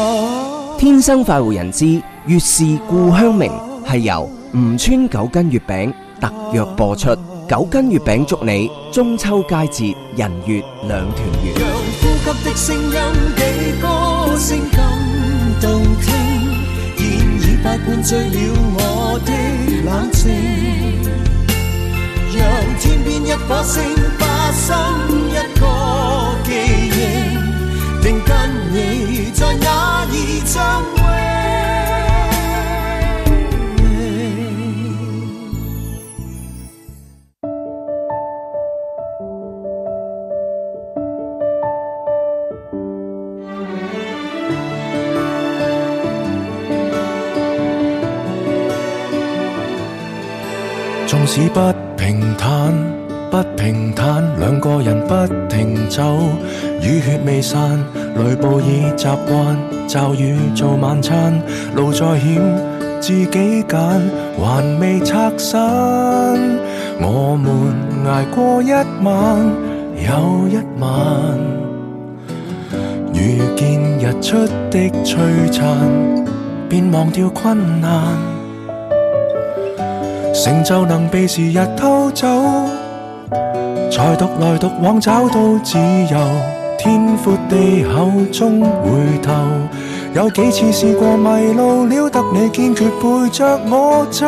天生快活人之月是故鄉明，係由吳川九斤月餅特約播出。九斤月餅祝你中秋佳節人月兩團圓。 讓呼吸的聲音比歌聲更動聽，現已不灌醉了我的冷靜，讓天邊一顆星發生一個記憶，定跟你在那兒相會。 縱使不平坦，不平坦，兩個人不停走，雨血未散，雷暴已習慣，驟雨做晚餐，路再險自己揀，還未拆散，我們捱過一晚又一晚，遇見日出的璀璨，便忘掉困難，成就能被時日偷走，才獨來獨往找到自由，天闊地厚終回頭，有幾次試過迷路了，得你堅決陪着我走，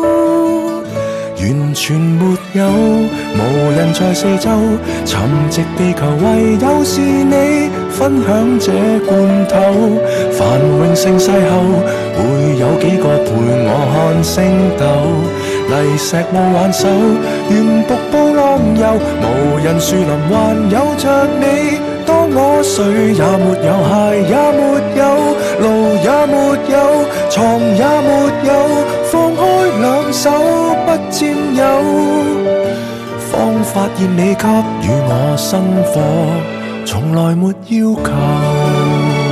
完全沒有，無人在四周，沉寂地球唯有是你分享這罐頭，繁榮盛世後會有幾個陪我看星斗，泥石路挽手，沿瀑布浪遊，無人樹林還有着你，當我誰也沒有，鞋也沒有，路也沒有，床也沒有，放開兩手不佔有，方發現你給予我生活，從來沒要求。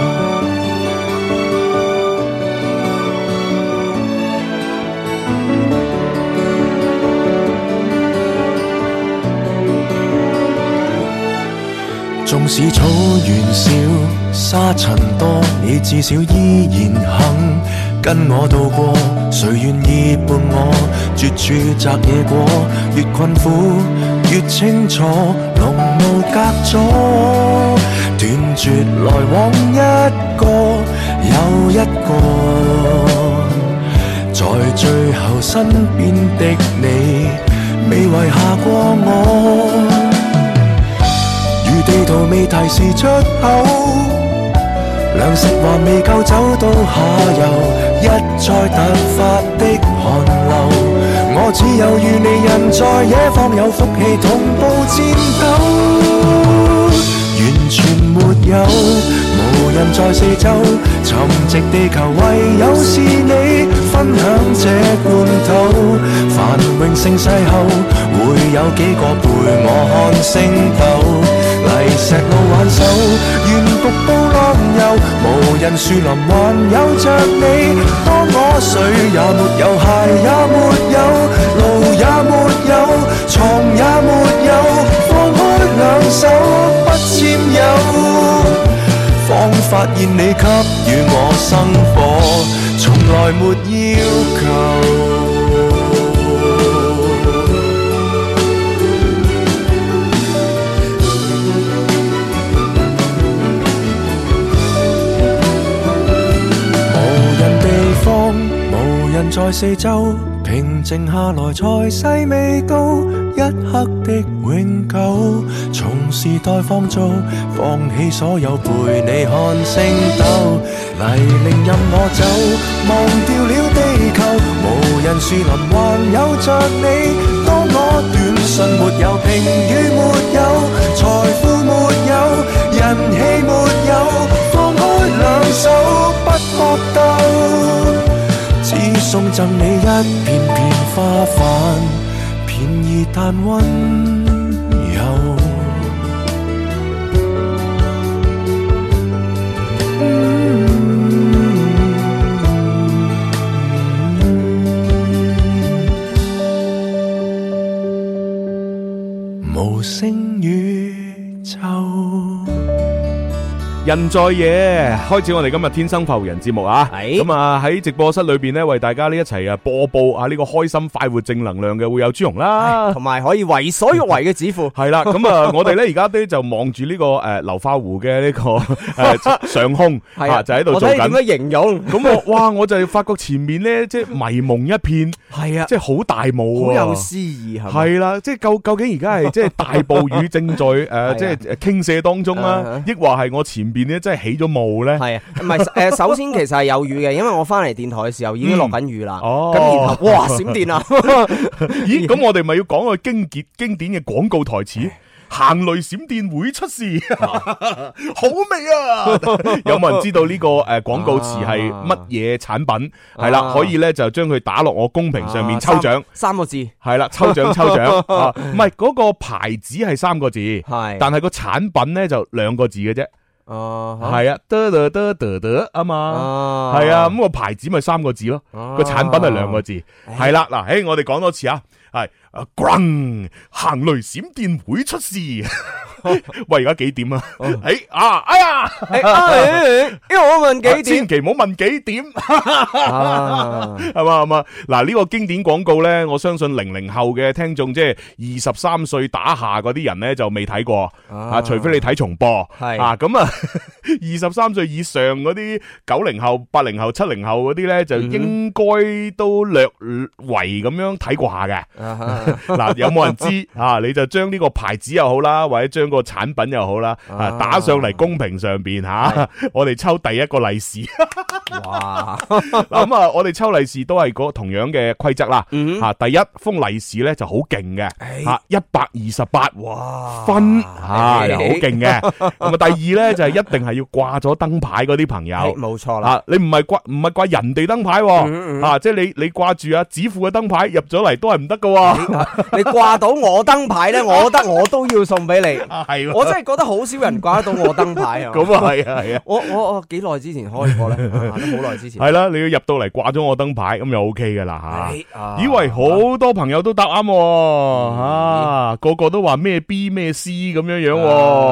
縱使草原少，沙塵多，你至少依然肯跟我渡過。誰願意伴我絕處摘野果？越困苦越清楚，濃霧隔阻，斷絕來往一個又一個，在最後身邊的你，未遺下過我。地圖未提示出口，糧食還未夠走到下游，一再突發的寒流，我只有與你人在野方有福氣同步戰鬥，完全沒有，無人在四周，沉寂地球唯有是你分享這罐頭，繁榮盛世後會有幾個陪我看星斗，泥石路挽手，沿瀑布浪遊，無人樹林還有着你，當我誰也沒有，鞋也沒有，路也沒有，床也沒有，放開兩手不佔有，方發現你給予我生活，從來沒要求。無人在四周，平靜下來才細味到一刻的永久，從時代放縱，放棄所有陪你看星斗，泥濘任我走，忘掉了地球，無人樹林還有着你，當我短信沒有，評語沒有，財富沒有，人氣沒有，放開兩手不搏鬥，只送贈你一片片花瓣，便宜但溫柔。 日人在野，開始我哋今日天生浮人節目啊！ 係咁啊喺直播室裏邊咧，為大家呢一齊啊播報啊呢個開心快活正能量嘅會有朱紅啦， 同埋可以為所欲為嘅指父。 係啦，咁啊我哋咧而家咧就望住呢個流花湖嘅呢個上空啊，就喺度做緊。 我睇點樣形容？ 咁哇，我就發覺前面咧即係迷蒙一片， 係啊， 即係好大霧， 好有詩意係。 係啦，即係究竟而家係即係大暴雨正在即係傾瀉當中啦，抑或係我前邊咧真係起咗霧咧？ 係啊，唔係首先其實係有雨嘅，因為我翻嚟電台嘅時候已經落緊雨啦。 哦， 咁然後哇閃電啊！ 咦，咁我哋咪要講個經典嘅廣告台詞？行雷閃電會出事，好味啊！有冇人知道呢個廣告詞係乜嘢產品？係啦，可以咧就將佢打落我公屏上面抽獎， 三個字係啦，抽獎唔係嗰個牌子係3個字，係，但係個產品咧就2個字嘅啫。係啊，得啊嘛，係啊，咁個牌子咪3個字咯，個產品係2個字，係啦，嗱，我哋講多次啊，係轟，行雷閃電會出事。喂，而家幾點啊？哎呀， 因為我問幾點， 千祈唔好問幾點，係嘛？嗱，呢個經典廣告咧，我相信00後嘅聽眾，即係23歲打下嗰啲人咧就未睇過啊，除非你睇重播，係啊，咁啊，23歲以上嗰啲90後、80後、70後嗰啲咧，就應該都略為咁樣睇過下嘅。嗱，有冇人知啊？你就將呢個牌子又好啦，或者將個產品又好啦，打上嚟公屏上邊吓，我哋抽第一個利是。哇！咁啊，我哋抽利是都係嗰同樣嘅規則啦。吓，第一封利是咧就好勁嘅，吓128分，吓又好勁嘅。咁啊，第二咧就係一定係要掛咗燈牌嗰啲朋友， 冇錯啦。 你唔係掛人哋燈牌，吓，即係你掛住指父嘅燈牌入咗嚟都係唔得噶。 你掛到我燈牌咧，我覺得我都要送俾你。係，我真係覺得好少人掛得到我燈牌啊。 咁啊係啊， 我幾耐之前開過咧？都好耐之前。 係啦，你要入到嚟掛咗我燈牌，咁就 OK 噶啦吓。以為好多朋友都答啱，個個都話咩 B 咩 C 咁樣樣。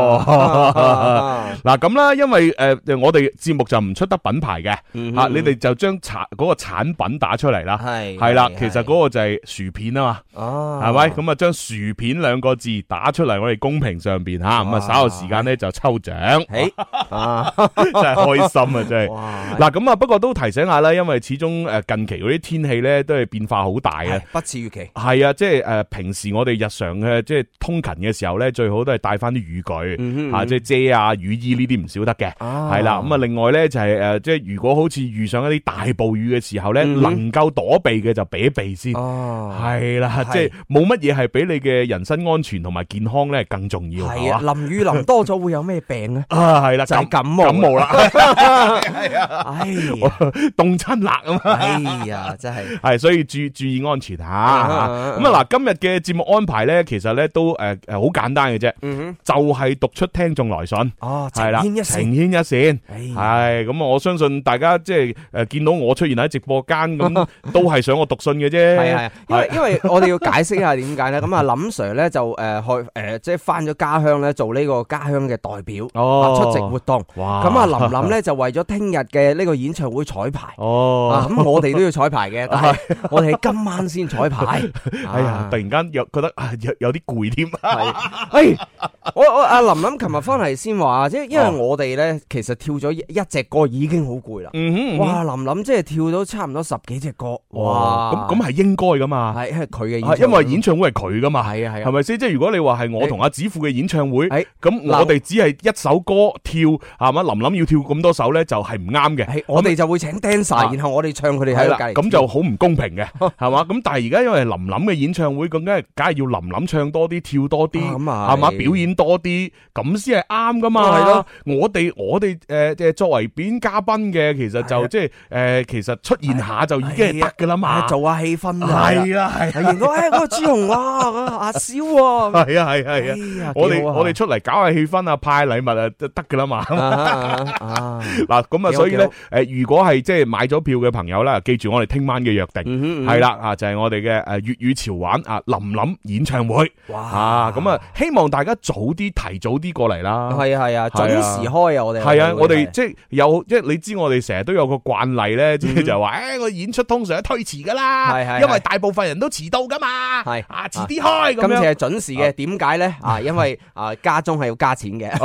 嗱咁啦，因為我哋節目就唔出得品牌嘅，你哋就將嗰個產品打出嚟啦。係啦，其實嗰個就係薯片啊嘛。係咪？咁啊，將薯片2個字打出嚟，我哋公屏上邊吓，咁啊稍後時間咧就抽獎，真係開心啊！真係。嗱咁啊，不過都提醒下啦，因為始終近期嗰啲天氣咧都係變化好大嘅， 不似預期。 係啊，即係平時我哋日常嘅即係通勤嘅時候咧，最好都係帶翻啲雨具吓，即係遮啊、雨衣呢啲唔少得嘅。係啦，咁啊，另外咧就係即係如果好似遇上一啲大暴雨嘅時候咧，能夠躲避嘅就避一避先。係啦。即係冇乜嘢係比你嘅人身安全同埋健康咧更重要。係啊， 淋雨淋多咗會有咩病咧？ 係啦， 就係感冒啦。係啊， 哎呀， 凍親辣啊嘛。 哎呀，真係所以注意安全吓。咁啊嗱，今日嘅節目安排咧，其實咧都好簡單嘅啫。就係讀出聽眾來信。係啦，情牽一線。係咁啊，我相信大家即係見到我出現喺直播間咁，都係想我讀信嘅啫。 係，因為我哋要解釋一下點解咧？咁啊，林 Sir 咧就去即係翻咗家鄉咧做呢個家鄉嘅代表，出席活動。咁啊，林林咧就為咗聽日嘅呢個演唱會彩排。咁我哋都要彩排嘅，但係我哋係今晚先彩排。 哎呀，突然間又覺得有啲攰添。 我阿林林琴日翻嚟先話，即係因為我哋咧其實跳咗一隻歌已經好攰啦。哇，林林即係跳到差唔多10幾隻歌。哇， 咁係應該噶嘛？ 係佢嘅， 因為演唱會係佢噶嘛。 係啊， 係咪先？即係如果你話係我同阿子富嘅演唱會，咁我哋只係一首歌跳，係嘛？林林要跳咁多首咧，就係唔啱嘅。我哋就會請 dancer，然後我哋唱佢哋喺度計， 咁就好唔公平嘅，係嘛？咁但係而家因為林林嘅演唱會，咁梗係要林林唱多啲，跳多啲，係嘛？表演多啲，咁先係啱噶嘛？係咯，我哋作為表演嘉賓嘅，其實就即係其實出現下就已經係得噶啦嘛， 做下氣氛。 係啦，係。哎認到嗰個朱紅阿蕭喎。 係啊，我哋出嚟搞下氣氛啊，派禮物啊，就得噶啦嘛。嗱，咁啊，所以咧，如果係即係買咗票嘅朋友咧，記住我哋聽晚嘅約定，係啦就係我哋嘅粵語潮玩林林演唱會。哇！咁啊，希望大家提早啲過嚟啦。 係啊，準時開啊！我哋係啊，我哋即係你知我哋成日都有個慣例咧，即係就話我演出通常都推遲噶啦，因為大部分人都遲到噶嘛。係遲啲開咁樣。今次係準時嘅，點解咧？因為加鐘係要加錢嘅。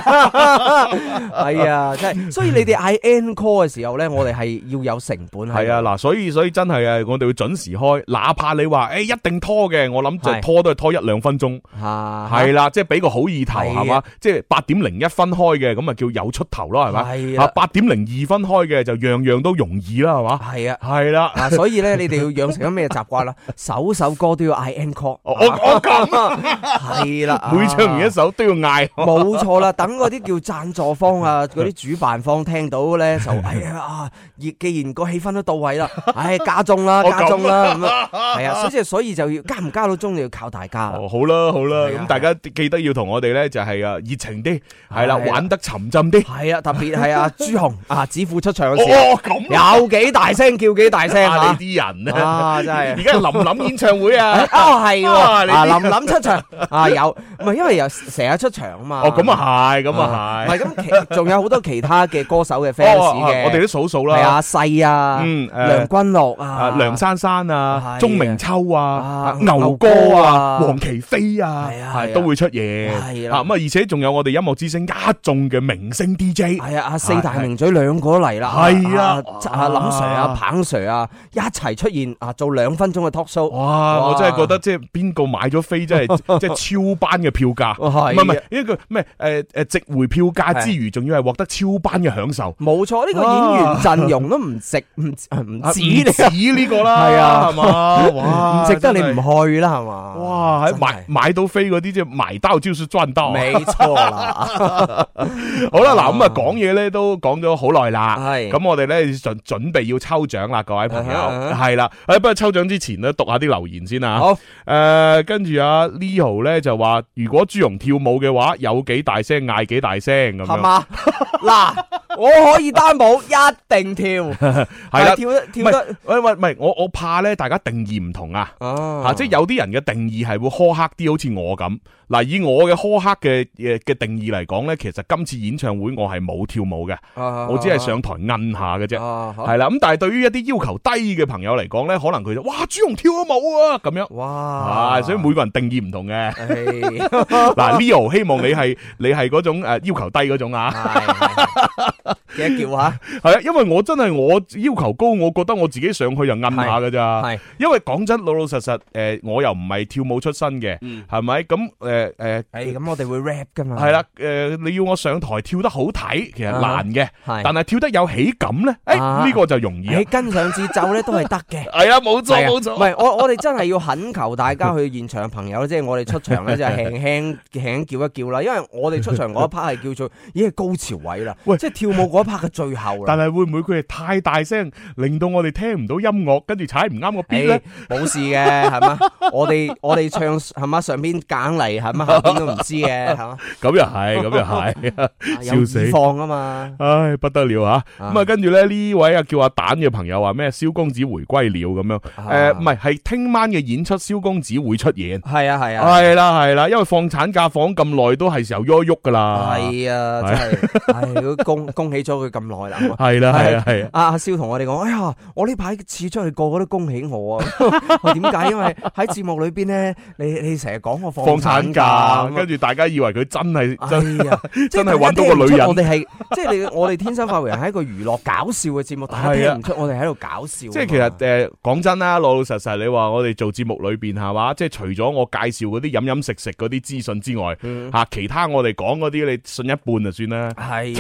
係啊，即係，所以你哋嗌 encore 嘅時候咧，我哋係要有成本。係啊，嗱，所以真係啊，我哋會準時開，哪怕你話一定拖嘅，我諗就拖都係拖1-2分鐘。係啦，即係俾個好意頭係嘛，即係8:01開嘅，咁啊叫有出頭咯，係咪？係啊，8:02開嘅就樣樣都容易啦，係嘛？係啊，係啦， 所以咧，你哋要養成咗咩習慣啦？首歌都要嗌 encore。 我咁啊， 係啦， 每唱完一首都要嗌。 冇錯啦，等嗰啲叫贊助方啊，嗰啲主辦方聽到咧就既然個氣氛都到位啦，加鐘啦，咁啊，係啊，所以就要加唔加到鐘就要靠大家。 好啦，咁大家記得要同我哋咧就係熱情啲，係啦，玩得沉浸啲。 係啊，特別係朱紅子富出場嘅時候，有幾大聲叫幾大聲你啲人啊，真係而家林林演唱會啊， 係林林出場有，唔係因為又成日出場啊嘛。 咁啊係，唔係咁，仲有好多其他嘅歌手嘅 fans 嘅， 我哋都數啦， 係阿細梁君樂梁珊珊啊，鐘明秋啊，牛哥啊，黃琪飛啊，都會出現。係啦，咁而且仲有我哋音樂之聲一眾嘅明星 DJ， 係啊，四大名嘴兩個都嚟啦， 係啊， 林 Sir 彭 Sir 一齊出現做2分鐘嘅 talk show。 哇！我真係覺得即係邊個買咗飛，真係即係超班嘅票價，唔係呢個咩值回票價之餘，仲要係獲得超班嘅享受。 冇錯，呢個演員陣容都唔止呢個啦，係啊，係嘛？哇， 唔值得你唔去啦，係嘛？ 哇，買到飛嗰啲即係埋刀就是賺到， 沒錯啦。 好啦，嗱咁啊講嘢咧都講咗好耐啦，係咁我哋咧準備要抽獎啦，各位朋友係啦，不過抽獎之前咧讀下啲留言先啊。好，跟住阿 Leo 咧就話，如果朱紅跳舞嘅話，有幾大聲嗌幾大聲咁樣，係嘛？嗱， 我可以擔保一定跳，係啦，跳得， 喂，我怕咧，大家定義唔同啊，即係有啲人嘅定義係會苛刻啲，好似我咁。嗱，以我嘅苛刻嘅定義嚟講咧，其實今次演唱會我係冇跳舞嘅，我只係上台摁下嘅啫，係啦。咁但係對於一啲要求低嘅朋友嚟講咧，可能佢就哇朱紅跳咗舞啊咁樣，哇，所以每個人定義唔同嘅。嗱，Leo 希望你係嗰種要求低嗰種啊， 記得叫下， 係啊，因為我真係我要求高，我覺得我自己上去就摁下㗎咋，係，因為講真老實實，我又唔係跳舞出身嘅，係咪咁？ 咁我哋會 rap 噶嘛？ 係啦，你要我上台跳得好睇，其實難嘅，但係跳得有喜感咧，呢個就容易。 你跟上節奏咧都係得嘅。 係啊，冇錯冇錯。 唔係我哋真係要懇求大家去現場嘅朋友，即係我哋出場咧就輕輕叫一叫啦，因為我哋出場嗰一 part 係叫做已經係高潮位啦，即係跳舞嗰一 part 嘅最後啦。 但係會唔會佢哋太大聲，令到我哋聽唔到音樂，跟住踩唔啱個 beat 咧？ 冇事嘅，係嘛？我哋唱係嘛？上邊揀嚟係嘛？下邊都唔知嘅，係嘛？ 咁又係，笑死！ 放啊嘛， 唉不得了吓！咁啊，跟住咧呢位叫阿蛋嘅朋友話咩？蕭公子回歸了咁樣，唔係聽晚嘅演出，蕭公子會出現。係啊，係啦，因為放產假放咁耐，都係時候喐噶啦。係啊，真係，恭喜咗佢咁耐啦。係啦，係啊。阿蕭同我哋講，哎呀，我呢排次出去個個都恭喜我啊！點解？因為喺節目裏邊咧，你成日講我放產假，跟住大家以為佢真係真係揾到個女人。我哋係即係我哋天生發為人係一個娛樂搞笑嘅節目，大家聽唔出我哋喺度搞笑。即係其實講真啦，老老實實，你話我哋做節目裏邊係嘛，即係除咗我介紹嗰啲飲飲食食嗰啲資訊之外，其他我哋講嗰啲你信一半就算啦。係啊。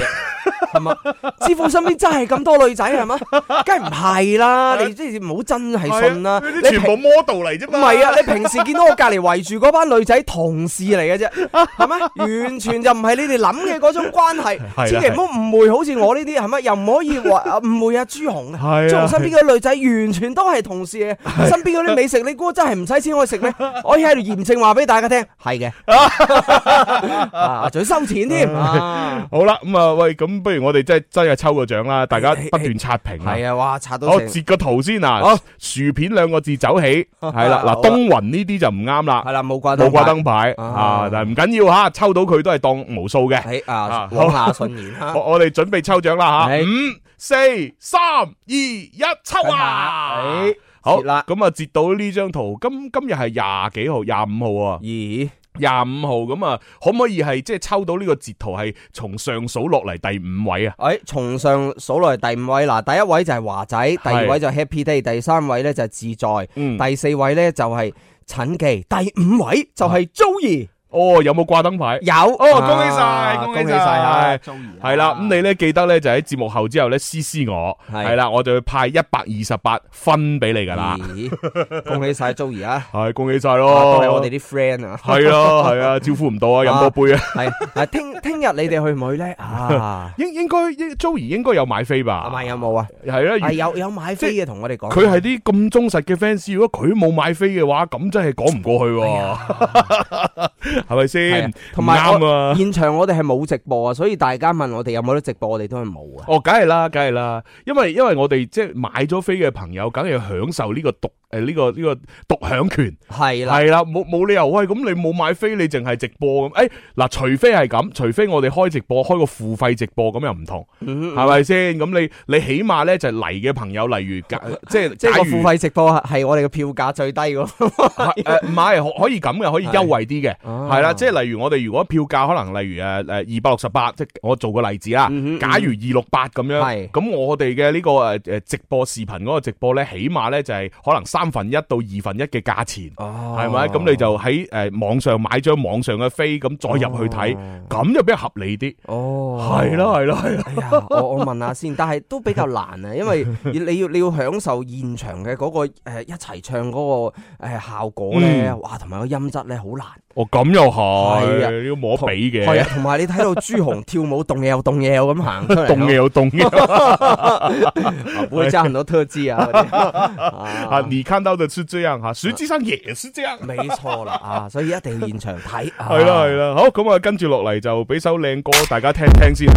係嘛？師傅身邊真係咁多女仔係嘛？梗係唔係啦，你即係唔好真係信啦。 你全部 model 嚟啫嘛。 唔係啊，你平時見到我隔離圍住嗰班女仔同事嚟嘅啫，係咪？完全就唔係你哋諗嘅嗰種關係，千祈唔好誤會，好似我呢啲係咪？又唔可以話誤會阿朱紅啊！朱紅身邊嗰啲女仔完全都係同事嘅，身邊嗰啲美食你估真係唔使錢可以食咩？我可以喺度嚴正話俾大家聽，係嘅，仲要收錢添。 好啦，咁啊喂，咁不如我哋真係抽個獎啦，大家不斷刷屏啊！ 係啊，哇，刷到我截個圖先啊！薯片2個字走起，係啦，嗱，東雲呢啲就唔啱啦， 係啦，冇掛燈牌啊，但係唔緊要吓，抽到佢都係當無數嘅。 係啊，往下順延吓。 我哋準備抽獎啦吓，5、4、3、2、1，抽啊！好啦，咁啊，截到呢張圖，今日係廿幾號，25號啊。 咦 ？25號咁啊，可唔可以係即係抽到呢個截圖係從上數落嚟第5位啊？ 從上數落嚟第5位嗱，第一位就係華仔，第二位就係 Happy Day， 第3位咧就係自在，第4位咧就係陳記，第5位就係 Joey。 哦，有冇掛燈牌？ 有哦，恭喜晒，恭喜晒，係啦。咁你咧記得咧就喺節目後之後咧私我，係啦，我就會派128分俾你噶啦。 恭喜晒 Joey 啊！ 係恭喜晒咯， 都係我哋啲 friend 啊。 係咯係啊，招呼唔到啊，飲多杯啊。 係聽日你哋去唔去咧？ 應該 Joey 應該有買飛吧？ 係咪有冇啊？ 係啦， 有買飛嘅同我哋講。 佢係啲咁忠實嘅 fans，如果佢冇買飛嘅話，咁真係講唔過去。係咪先？同埋現場我哋係冇直播啊，所以大家問我哋有冇得直播，我哋都係冇啊。 哦，梗係啦，因為我哋即係買咗飛嘅朋友，梗係享受呢個呢個獨享權。係啦，冇理由喂，咁你冇買飛，你淨係直播咁？嗱，除非係咁，除非我哋開直播，開個付費直播，咁又唔同，係咪先？咁你起碼咧就嚟嘅朋友，例如即係個付費直播係我哋嘅票價最低㗎。 唔係可以咁嘅，可以優惠啲嘅，係啦，即係例如我哋如果票價可能例如268，即係我做個例子啦。假如268咁樣，咁我哋嘅呢個直播視頻嗰個直播咧，起碼咧就係可能1/3到1/2嘅價錢，係咪？咁你就喺網上買張網上嘅飛，咁再入去睇，咁就比較合理啲。係咯。 哎呀，我問下先，但係都比較難啊，因為你要享受現場嘅嗰個一齊唱嗰個效果咧，哇，同埋個音質咧好難。 哦，咁又係，要摸比嘅。 係啊，同埋你睇到朱紅跳舞動嘢又動嘢又咁行出嚟， 動嘢又動嘢， 不會加很多特技啊。 你看到的是這樣哈，實際上也是這樣。 沒錯啦，所以一定要現場睇。 係啦，好，咁啊，跟住落嚟就俾首靚歌大家聽聽先。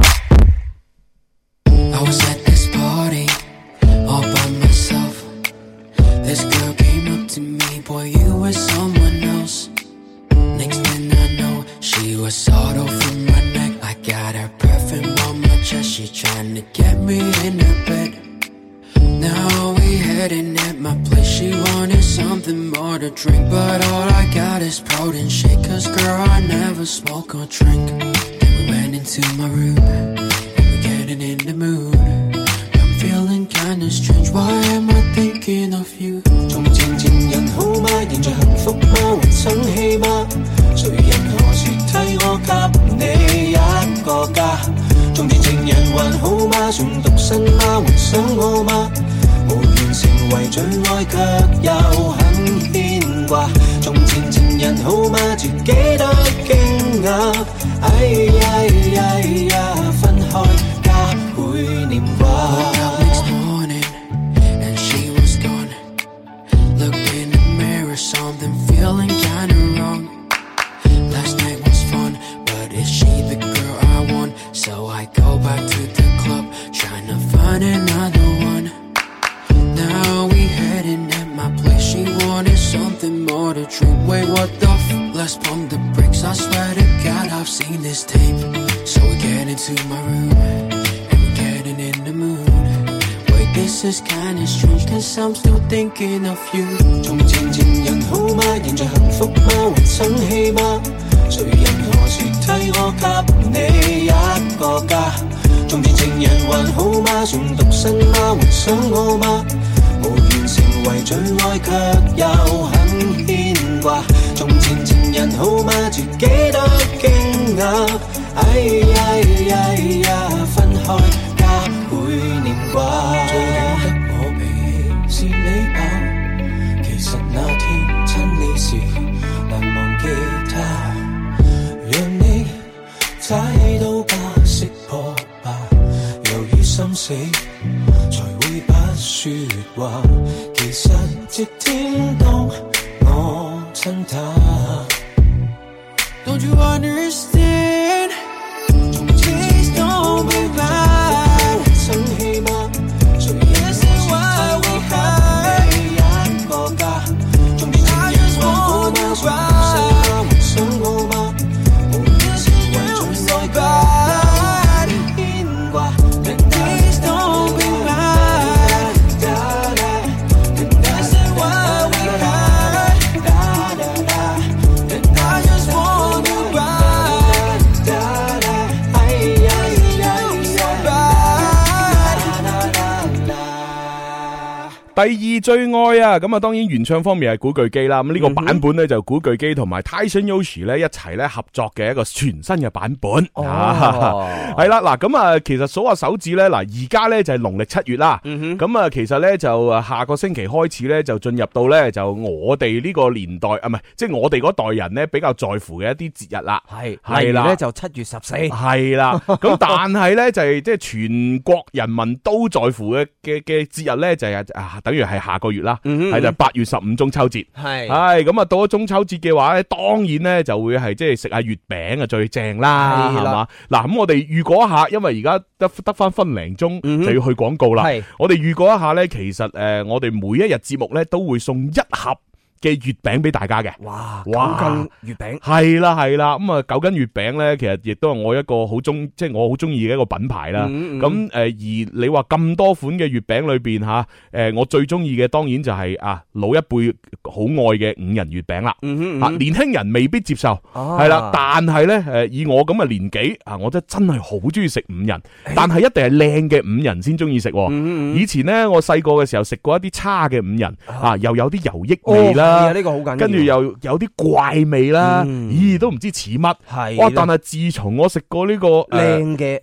She was sort of from my neck. I got her perfume on my chest. She trying to get me in her bed. Now we heading at my place. She wanted something more to drink, but all I got is protein shake. 'Cause girl, I never smoke or drink. Then we went into my room and we're getting in the mood. I'm feeling kinda strange. Why am I thinking of you? 從前情人好嗎？現在幸福嗎？還生氣嗎？誰人何時替我給你一個家？從前情人還好嗎？仲獨身嗎？還想我嗎？無緣成為最愛，卻又很牽掛。從前情人好嗎？自己都驚訝。哎呀，分開家會念掛。 Something feeling kinda wrong. Last night was fun, but is she the girl I want? So I go back to the club, trying to find another one. Now we heading at my place. She wanted something more to drink. Wait, what the let's pump the brakes. I swear to God, I've seen this tape. So we get into my room, and we're getting in the mood. This is kinda strange, 'cause I'm still thinking of you. 從前情人好嗎？現在幸福嗎？還生氣嗎？誰人何時替我給你一個家？從前情人還好嗎？仲獨身嗎？還想我嗎？無緣成為最愛，卻又很牽掛。從前情人好嗎？自己都驚訝。哎呀，分開開，加倍念掛。最顯得我脾氣是你吧？其實那天親你時難忘記他，讓你踩到吧，識破吧，由於心死才會不說話。其實直天當我親他。Don't you understand? Please don't be mad. 生氣嗎？誰也是為我開一個家。終於情人還好嗎？想他還想我嗎？無論是為盡愛吧，牽掛。Please don't be mad. I said why we hide. And I just want you back. So bad. 第二最愛啊，咁啊當然原唱方面係古巨基啦，咁呢個版本咧就古巨基同埋 Tyson Yoshi 咧一齊咧合作嘅一個全新嘅版本。係啦，嗱咁啊，其實數下手指咧，嗱而家咧就係農曆7月啦，咁啊其實咧就下個星期開始咧就進入到咧就我哋呢個年代啊，唔係即係我哋嗰代人咧比較在乎嘅一啲節日啦，係啦， 咧就7月14， 係啦，咁但係咧就係即係全國人民都在乎嘅節日咧就係等於係下個月啦，係就8月15中秋節，係咁啊到咗中秋節嘅話咧，當然咧就會係即係食下月餅啊最正啦，係嘛？嗱咁我哋預告一下，因為而家得翻分零鐘就要去廣告啦，我哋預告一下咧，其實我哋每一日節目咧都會送一盒嘅月餅俾大家嘅。哇，9斤月餅係啦，咁啊9斤月餅咧，其實亦都係我一個即係我好中意嘅一個品牌啦。咁而你話咁多款嘅月餅裏邊吓，我最中意嘅當然就係老一輩好愛嘅5仁月餅啦。年輕人未必接受，係啦，但係咧以我咁嘅年紀我真係好中意食5仁，但係一定係靚嘅5仁先中意食。以前咧我細個嘅時候食過一啲差嘅5仁又有啲油益味啦。呢個好緊要，跟住又有啲怪味啦，咦都唔知似乜，哇！但係自從我食過呢個靚嘅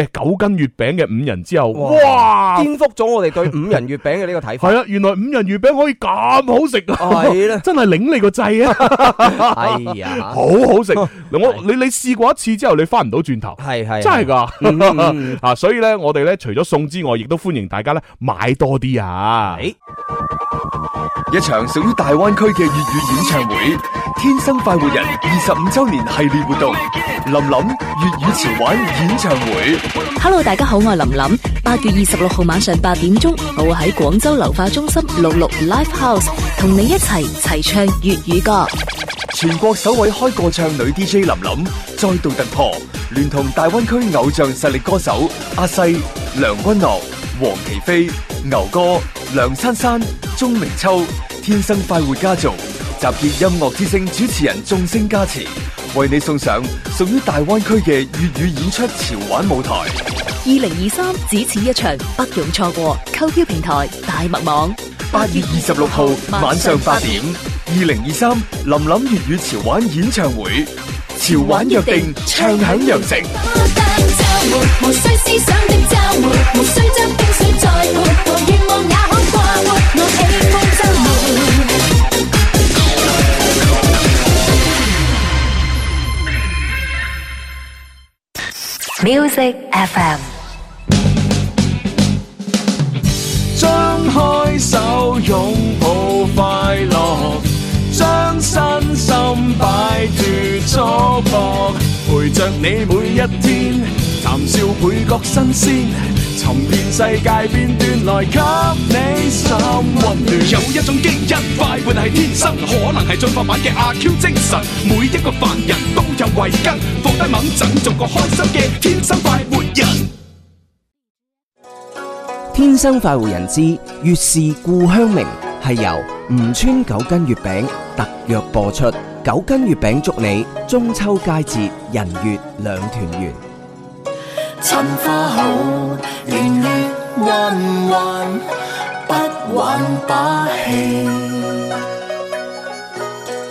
9斤月餅嘅5仁之後，哇！ 顛覆咗我哋對5仁月餅嘅呢個睇法。 係啊，原來5仁月餅可以咁好食啊！係啦，真係擰你個掣啊！係啊，好好食。你試過一次之後，你翻唔到轉頭，係真係噶。所以咧，我哋咧除咗送之外，亦都歡迎大家咧買多啲啊！ 一場屬於大灣區嘅粵語演唱會，天生快活人25周年系列活動，林林粵語潮玩演唱會。 Hello， 大家好，我係林林。8月26號晚上8點鐘，我會喺廣州流化中心66 Live House 同你一齊唱粵語歌。 全國首位開個唱女 DJ 林林再度突破，聯同大灣區偶像實力歌手阿細、梁君樂、黃琪飛、牛哥、梁珊珊、鐘明秋，天生快活家族集結音樂之聲主持人眾星加持，為你送上屬於大灣區嘅粵語演出潮玩舞台。 2023只此一場，不容錯過。購票平台大麥網。 8月26號晚上8點，2023林林粵語潮玩演唱會，潮玩約定，唱響羊城。 無需思想的週末，無需將冰水再潑，和願望也可掛活，我喜歡週末。Music FM。 張開手擁抱快樂，將身心擺脫束縛，陪着你每一天，談笑倍覺新鮮，尋遍世界片段來給你心溫暖。有一種基因快活係天生，可能係進化版嘅阿 Q 精神，每一個凡人都有慧根，放低猛陣，做個開心嘅天生快活人。 天生快活人之月是故鄉明，係由吳川9斤月餅特約播出。9斤月餅祝你中秋佳節人月兩團圓。 趁花好，年月彎彎，不玩把戲。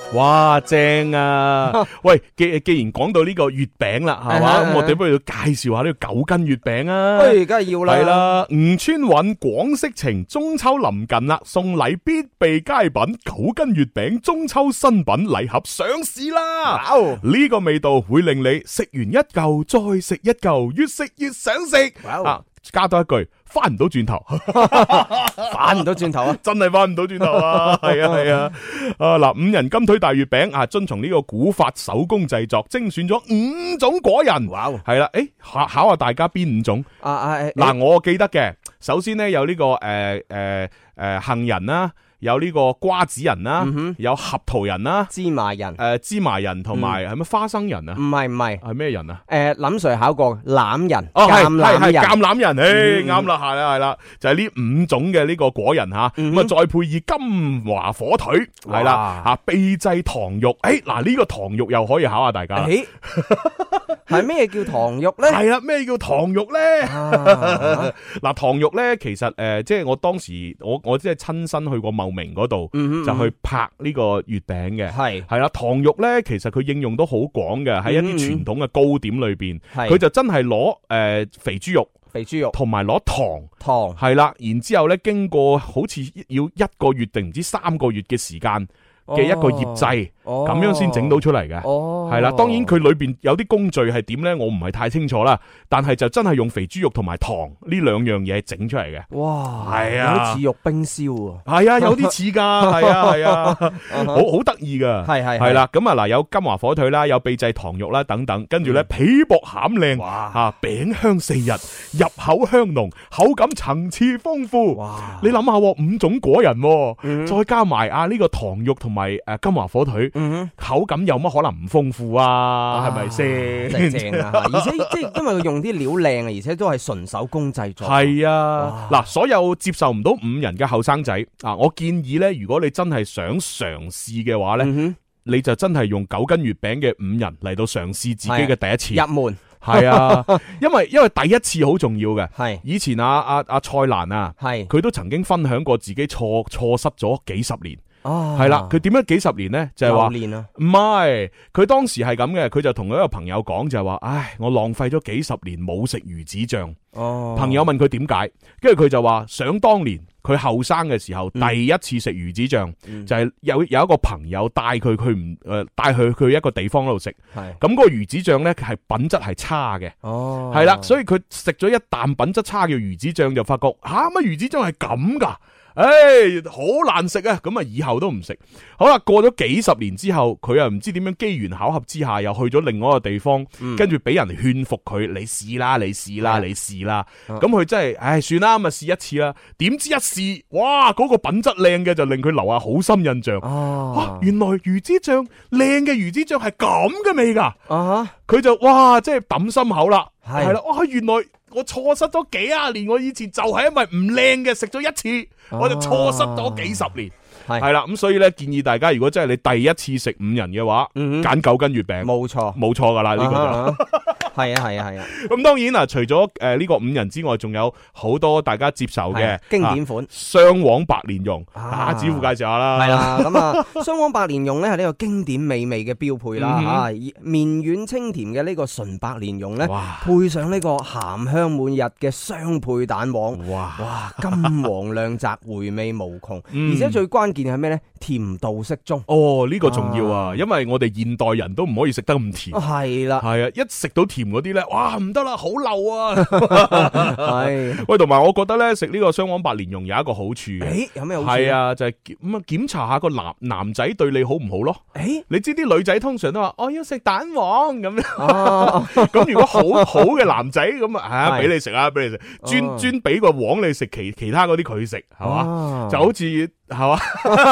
哇，正啊！喂，既然講到呢個月餅啦，係嘛，咁我哋不如介紹下呢個9斤月餅啊！ 喂，梗係要啦。 係啦，吳川韻廣式情，中秋臨近啦，送禮必備佳品9斤月餅中秋新品禮盒上市啦！呢個味道會令你食完一嚿再食一嚿，越食越想食。加多一句，翻唔到轉頭， 翻唔到轉頭啊！ 真係翻唔到轉頭啊！係啊係啊！嗱，5人金腿大月餅啊，遵從呢個古法手工製作，精選咗5種果仁。哇！係啦，考下大家邊5種？嗱，我記得嘅，首先咧有呢個杏仁啦。有呢個瓜子仁啦，有合桃仁啦， 芝麻仁， 芝麻仁同埋係咪花生仁啊？唔係， 係咩仁啊？ 林 Sir 考過欖仁， 係橄欖仁，啱啦，係啦，就係呢5種嘅呢個果仁吓，咁啊再配以金華火腿，係啦，吓秘製糖肉，嗱呢個糖肉又可以考下大家， 係咩叫糖肉咧？ 係啦，咩叫糖肉咧？嗱，糖肉咧，其實即係我當時我即係親身去過茂名嗰度，就去拍呢個月餅嘅，係啦，糖肉咧，其實佢應用都好廣嘅，喺一啲傳統嘅糕點裏邊，佢就真係攞肥豬肉同埋攞糖係啦，然之後咧經過好似要1個月定唔知3個月嘅時間嘅一個醃製，咁樣先整到出嚟嘅，係啦。當然佢裏邊有啲工序係點咧，我唔係太清楚啦。但係就真係用肥豬肉同埋糖呢2樣嘢整出嚟嘅。哇，係啊， 有啲似肉冰燒喎。 係啊，有啲似噶，係啊，好得意噶。係啦。咁啊嗱，有金華火腿啦，有秘製糖肉啦等等，跟住咧皮薄餡靚，吓餅香4日，入口香濃，口感層次豐富。哇！你諗下，5種果仁，再加埋呢個糖肉同埋金華火腿，口感有乜可能唔豐富啊？係咪先？ 正啊！而且即係因為佢用啲料靚啊，而且都係純手工製作。 係啊，嗱，所有接受唔到5人嘅後生仔啊，我建議咧，如果你真係想嘗試嘅話咧，你就真係用9斤月餅嘅5人嚟到嘗試自己嘅第一次入門。 係啊，因為第一次好重要嘅。係以前阿蔡瀾啊，佢都曾經分享過自己錯失咗幾十年。係啦，佢點樣幾十年呢？就係話唔係，佢當時係咁嘅，佢就同佢一個朋友講，就係話，唉，我浪費咗幾十年冇食魚子醬。朋友問佢點解，跟住佢就話，想當年佢後生嘅時候，第一次食魚子醬，就係有一個朋友帶佢去一個地方嗰度食，咁嗰個魚子醬呢，係品質係差嘅，係啦，所以佢食咗一啖品質差嘅魚子醬，就發覺乜魚子醬係咁噶？好難食啊！咁啊，以後都唔食。好啦，過咗幾十年之後，佢又唔知點樣機緣巧合之下，又去咗另外一個地方，跟住俾人勸服佢，你試啦，你試啦，你試啦。咁佢真係，算啦，咁啊試一次啦。點知一試，哇，嗰個品質靚嘅就令佢留下好深印象。原來魚子醬靚嘅魚子醬係咁嘅味噶。佢就哇，即係抌心口啦。係啦，哇，原來我錯失咗幾廿年，我以前就係因為唔靚嘅食咗一次，我就錯失咗幾十年。係啦，咁所以咧，建議大家如果真係你第一次食5人嘅話，揀9斤月餅，冇錯噶啦，呢個就係啊。咁當然啦，除咗呢個5人之外，仲有好多大家接受嘅經典款雙黃白蓮蓉。子富介紹下啦。 係啦，咁啊，雙黃白蓮蓉咧係呢個經典美味嘅標配啦。綿軟清甜嘅呢個純白蓮蓉咧，配上呢個鹹香滿溢嘅雙倍蛋黃，哇，金黃亮澤，回味無窮。而且最關鍵係咩咧？甜度適中。呢個重要啊，因為我哋現代人都唔可以食得咁甜。係啦，係啊，一食到甜嗰啲咧，哇，唔得啦，好漏啊。係喂，同埋我覺得咧，食呢個雙黃白蓮蓉有一個好處嘅。有咩好處？係啊，就係咁啊，檢查下個男仔對你好唔好咯。你知啲女仔通常都話我要食蛋黃咁樣。咁如果好嘅男仔咁啊，俾你食啊，俾你食，專俾個黃你食，其他嗰啲佢食，係嘛？就好似。係嘛？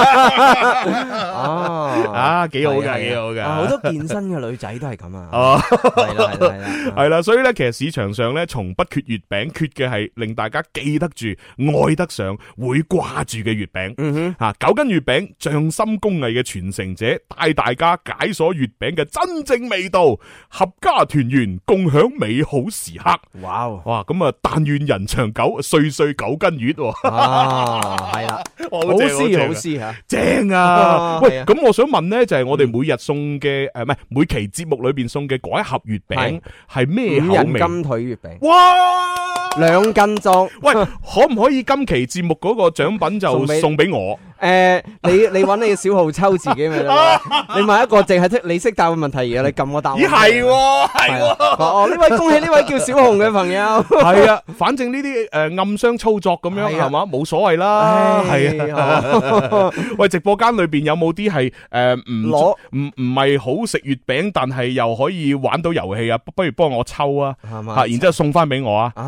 幾好嘅，幾好嘅。 好多健身嘅女仔都係咁啊。 係啦，所以咧，其實市場上咧，從不缺月餅，缺嘅係令大家記得住、愛得上、會掛住嘅月餅。9斤月餅，匠心工藝嘅傳承者，帶大家解鎖月餅嘅真正味道，合家團圓，共享美好時刻。哇！咁啊，但願人長久，歲歲9斤月。係啦，好詩好詩吓， 正啊！喂， 係啊咁我想問咧，就係我哋每日送嘅唔係每期節目裏邊送嘅嗰一盒月餅係咩口 5人味？ 金腿月餅， 哇 2斤裝。 喂，可唔可以今期節目嗰個獎品就送俾我？ 你揾你嘅小號抽自己咪得咯。你問一個淨係你識答嘅問題，然後你撳個答案。 咦係喎，係喎。 哦，呢位恭喜呢位叫小紅嘅朋友。 係啊，反正呢啲暗箱操作咁樣係嘛，冇所謂啦。係啊。喂，直播間裏邊有冇啲係唔係好食月餅，但係又可以玩到遊戲啊？不如幫我抽啊，然之後送翻俾我啊。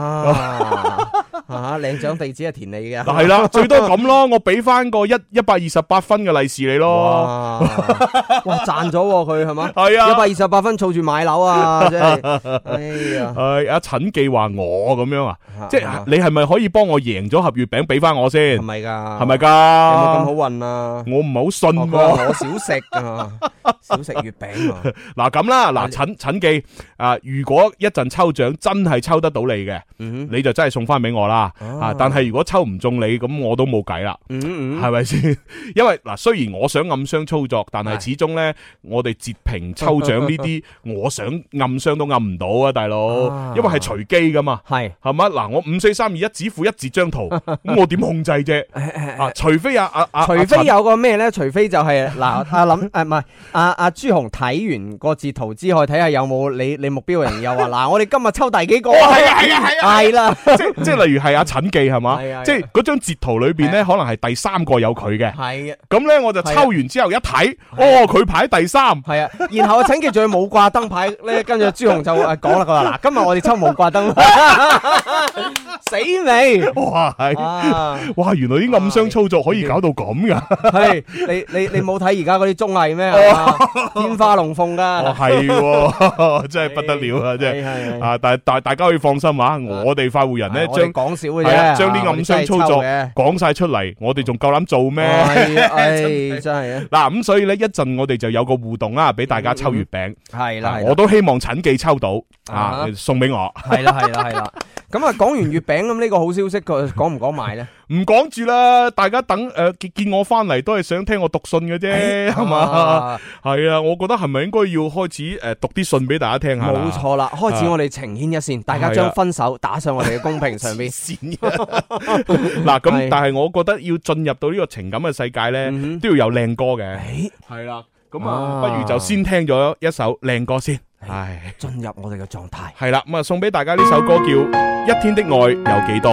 領獎地址係填你嘅。 係啦，最多咁咯，我俾翻個128分嘅利是你咯。 哇，賺咗佢係嘛？ 係啊 ，128分儲住買樓啊！真係，哎呀， 阿陳記話我咁樣啊，即係你係咪可以幫我贏咗盒月餅俾翻我先？ 係咪噶？ 係咪噶？ 有冇咁好運啊？ 我唔係好信喎。 我少食啊，少食月餅啊。 嗱咁啦，嗱陳記啊，如果一陣抽獎真係抽得到你嘅，你就真係送翻俾我啦。但係如果抽唔中你，咁我都冇計啦。係咪先？因為嗱，雖然我想暗箱操作，但係始終咧，我哋截屏抽獎呢啲，我想暗箱都暗唔到啊，大佬。因為係隨機噶嘛，係嘛？嗱，我5、4、3、2、1指符一截張圖，咁我點控制啫？除非除非有個咩咧？除非就係嗱，阿林唔係阿朱紅睇完個截圖之後，睇下有冇你目標人又話嗱，我哋今日抽第幾個？係啦， 即係例如係阿陳記係嘛？即係嗰張截圖裏邊咧，可能係第3個有佢嘅。係啊，咁咧我就抽完之後一睇，佢排第3。係啊， 然後阿陳記仲要冇掛燈牌咧，跟住朱紅就講啦，佢話嗱，今日我哋抽冇掛燈，死未？ 哇，原來啲暗箱操作可以搞到咁噶。 係你冇睇而家嗰啲綜藝咩？天花龍鳳噶。 係，真係不得了啊！真係啊，但係大家可以放心啊，我哋快活人咧將講少嘅啫， 將啲暗箱操作講晒出嚟，我哋仲夠膽做咩？ 真係啊！ 嗱，咁所以咧一陣我哋就有個互動啦，俾大家抽月餅。 係啦， 我都希望陳記抽到送俾我。 係啦。咁啊，講完月餅咁呢個好消息，佢講唔講埋咧？ 唔講住啦，大家等見我翻嚟都係想聽我讀信嘅啫，係嘛？係啊，我覺得係咪應該要開始讀啲信俾大家聽下？ 冇錯啦，開始我哋情牽一線，大家將分手打上我哋嘅公屏上邊。 嗱，咁但係我覺得要進入到呢個情感嘅世界咧，都要有靚歌嘅。係啦，咁啊，不如就先聽咗一首靚歌先。係進入我哋嘅狀態。 係啦，咁啊送俾大家呢首歌叫《一天的愛有幾多》。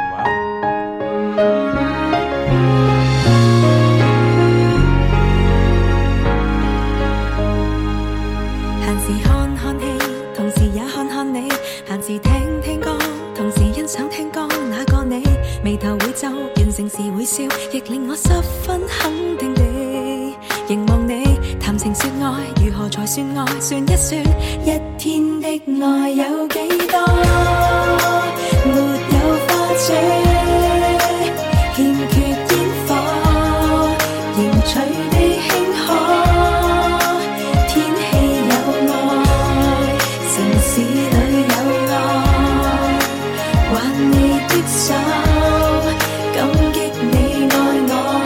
閒時看看戲，同時也看看你；閒時聽聽歌，同時欣賞聽歌那個你。眉頭會皺，完成時會笑，亦令我十分肯定地凝望你。談情說愛，如何才算愛？算一算，一天的愛有幾多？沒有花車，欠缺煙火，凝聚地輕可。天氣有愛，城市裏有愛，挽你的手，感激你愛我。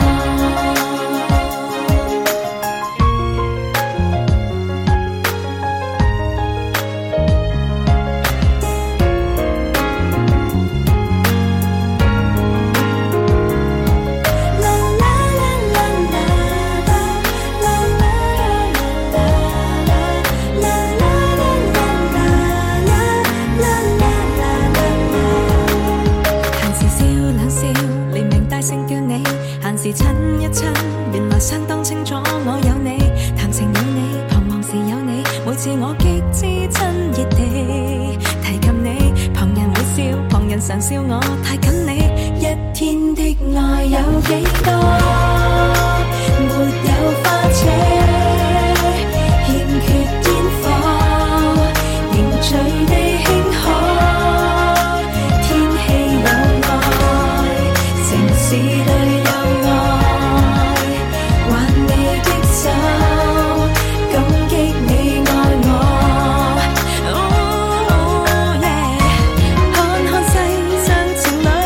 時親一親，原來相當清楚我有你，談情有你，彷徨時有你，每次我極之親熱地提及你，旁人會笑，旁人常笑我太緊你。一天的愛有幾多？沒有花車，欠缺煙火，凝聚地輕可。天氣有愛，城市裏有看看世上情侶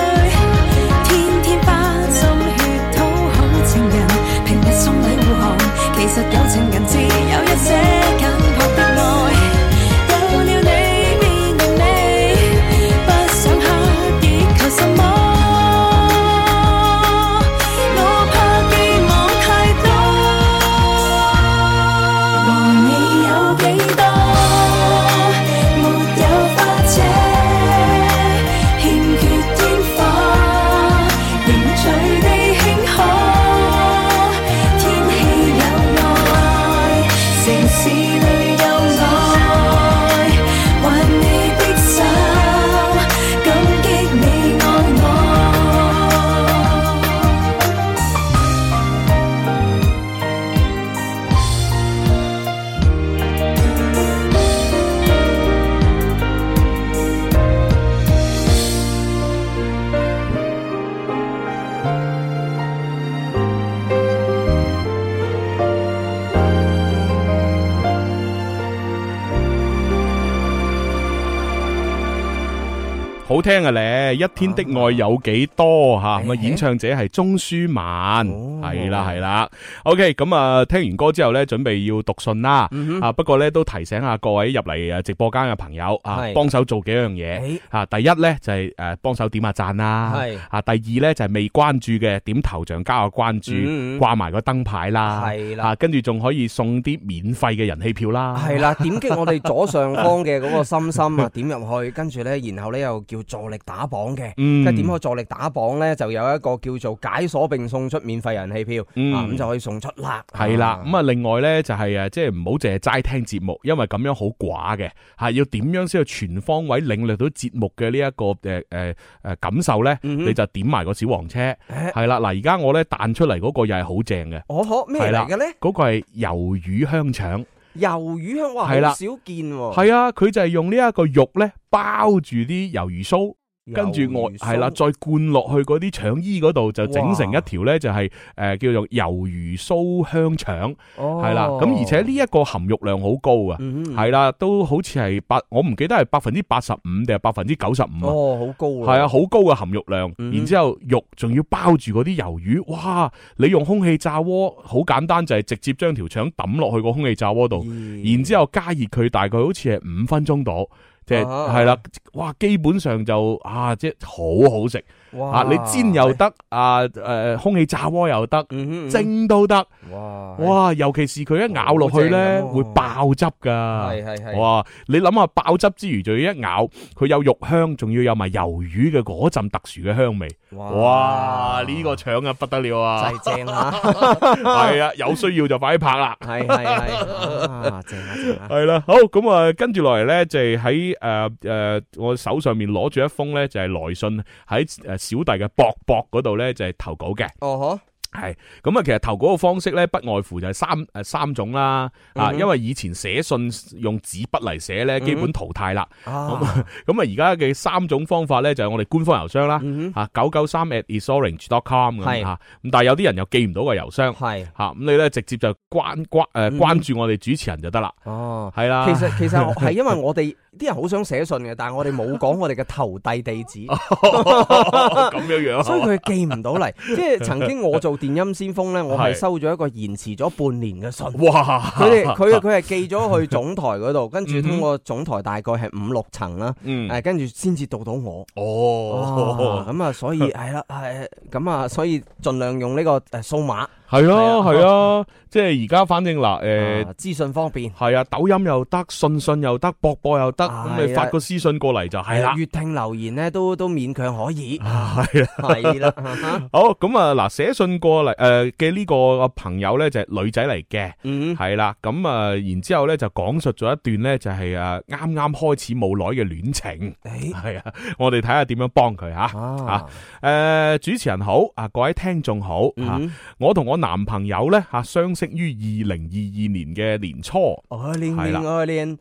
好聽嘅咧，一天的愛有幾多吓，咁啊演唱者係鍾舒漫，係啦。OK， 咁啊聽完歌之後咧，準備要讀信啦。不過咧都提醒下各位入嚟直播間嘅朋友啊，幫手做幾樣嘢啊。第一咧就係幫手點下讚啦，啊第二咧就係未關注嘅點頭像加個關注，掛埋個燈牌啦，係啦，跟住仲可以送啲免費嘅人氣票啦，係啦，點擊我哋左上方嘅嗰個心心啊，點入去，跟住咧，然後咧又叫助力打榜嘅，即係點開助力打榜咧，就有一個叫做解鎖並送出免費人氣票，咁就可以送出啦。係啦，咁啊另外咧就係即係唔好淨係齋聽節目，因為咁樣好寡嘅，係要點樣先去全方位領略到節目嘅呢一個感受咧？你就點埋個小黃車，係啦，嗱而家我咧彈出嚟嗰個又係好正嘅，咩嚟嘅咧？嗰個係魷魚香腸。魷魚香，哇，好少見喎。係啊，佢就係用呢一個肉咧包住啲魷魚鬚，跟住係啦，再灌落去嗰啲腸衣嗰度，就整成一條咧就係叫做魷魚鬚香腸，係啦。咁而且呢一個含肉量好高啊，係啦，都好似係我唔記得係85%定係95%啊。哦，好高啊！係啊，好高嘅含肉量。然之後肉仲要包住嗰啲魷魚，哇！你用空氣炸鍋好簡單，就係直接將條腸抌落去個空氣炸鍋度，然之後加熱佢，大概好似係5分鐘度。即係啦，哇！基本上就即係好好食。哇！你煎又得，空氣炸鍋又得，蒸都得。哇！尤其是佢一咬落去咧，會爆汁噶。係。哇！你諗下爆汁之餘，仲要一咬，佢有肉香，仲要有埋魷魚嘅嗰陣特殊嘅香味。哇！呢個腸啊不得了啊！真係正啊！係啊，有需要就快啲拍啦。係。正啊！係啦，好咁啊，跟住落嚟咧就係喺我手上面攞住一封咧，就係來信喺小弟嘅博博嗰度咧，就係投稿嘅。係咁啊，其實投稿嘅方式咧，不外乎就係三種啦。因為以前寫信用紙筆嚟寫咧，基本淘汰啦。咁啊，而家嘅3種方法咧，就係我哋官方郵箱啦。993@isorange.com 咁咁但係有啲人又記唔到個郵箱。係咁你咧直接就關注我哋主持人就得啦。係啦。其實係因為我哋啲人好想寫信嘅，但係我哋冇講我哋嘅投遞地址。咁樣，所以佢記唔到嚟。即係曾經我做電音先鋒咧，我係收咗一個延遲咗半年嘅信。哇！佢係寄咗去總台嗰度，跟住通過總台大概係5-6層啦，跟住先至到到我。咁啊，所以係啦，咁啊，所以盡量用呢個數碼。係啊，即係而家反正資訊方便。係啊，抖音又得，信又得，博又得，咁你發個私信過嚟就係啦。粵聽留言咧都勉強可以。係啦。好，咁啊嗱，寫信過嚟嘅呢個朋友咧就係女仔嚟嘅，係啦。咁啊，然之後咧就講述咗一段咧就係啱啱開始冇耐嘅戀情。係啊，我哋睇下點樣幫佢吓。主持人好，各位聽眾好。我同我男朋友咧相識於2022年嘅年初。係啦，2002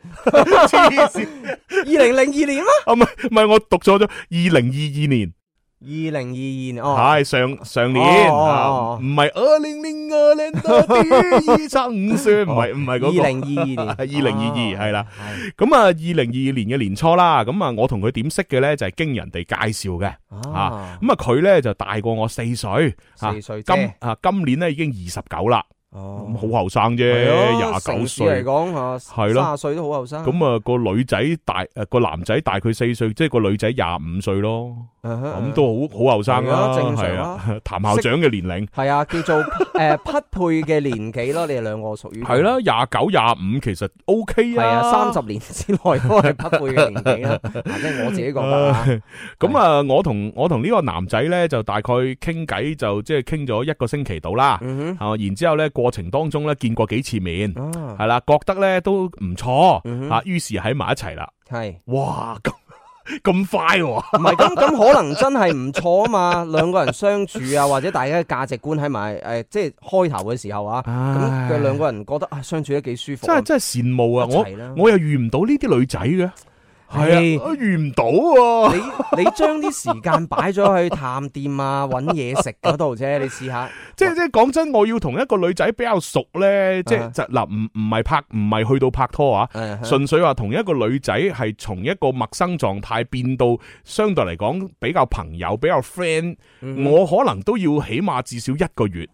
年嗎？唔係，我讀錯咗2022年。2022年係上年，唔係2002年的第一場雪，唔係嗰個2022年，2022係啦。咁啊，2022年嘅年初啦，咁啊，我同佢點識嘅咧就係經人哋介紹嘅，咁啊佢咧就大過我4歲，今年咧已經29啦。好後生啫，29歲嚟講係咯，30歲都好後生。咁啊個女仔個男仔大佢4歲，即係個女仔25歲咯。咁都好後生啦，正常啦。譚校長嘅年齡係啊，叫做匹配嘅年紀咯。你哋兩個屬於係啦，29、25其實 OK 啊。係啊，30年之內都係匹配嘅年紀啦。即係我自己覺得。咁啊，我同呢個男仔咧就大概傾偈，就即係傾咗1個星期到啦。然之後咧過程當中咧見過幾次面，係啦，覺得咧都唔錯，於是喺埋一齊啦。係，哇咁快喎！唔係咁可能真係唔錯啊嘛，兩個人相處啊，或者大家嘅價值觀喺埋即係開頭嘅時候啊，咁佢兩個人覺得相處得幾舒服。真係羨慕啊！我又遇唔到呢啲女仔嘅。 係啊，遇唔到喎。 你將啲時間擺咗去探店啊、揾嘢食嗰度啫，你試下。 即係講真，我要同一個女仔比較熟咧，即係嗱，唔係去到拍拖啊，純粹話同一個女仔係從一個陌生狀態變到相對嚟講比較朋友、比較 friend，我可能都要起碼至少1個月。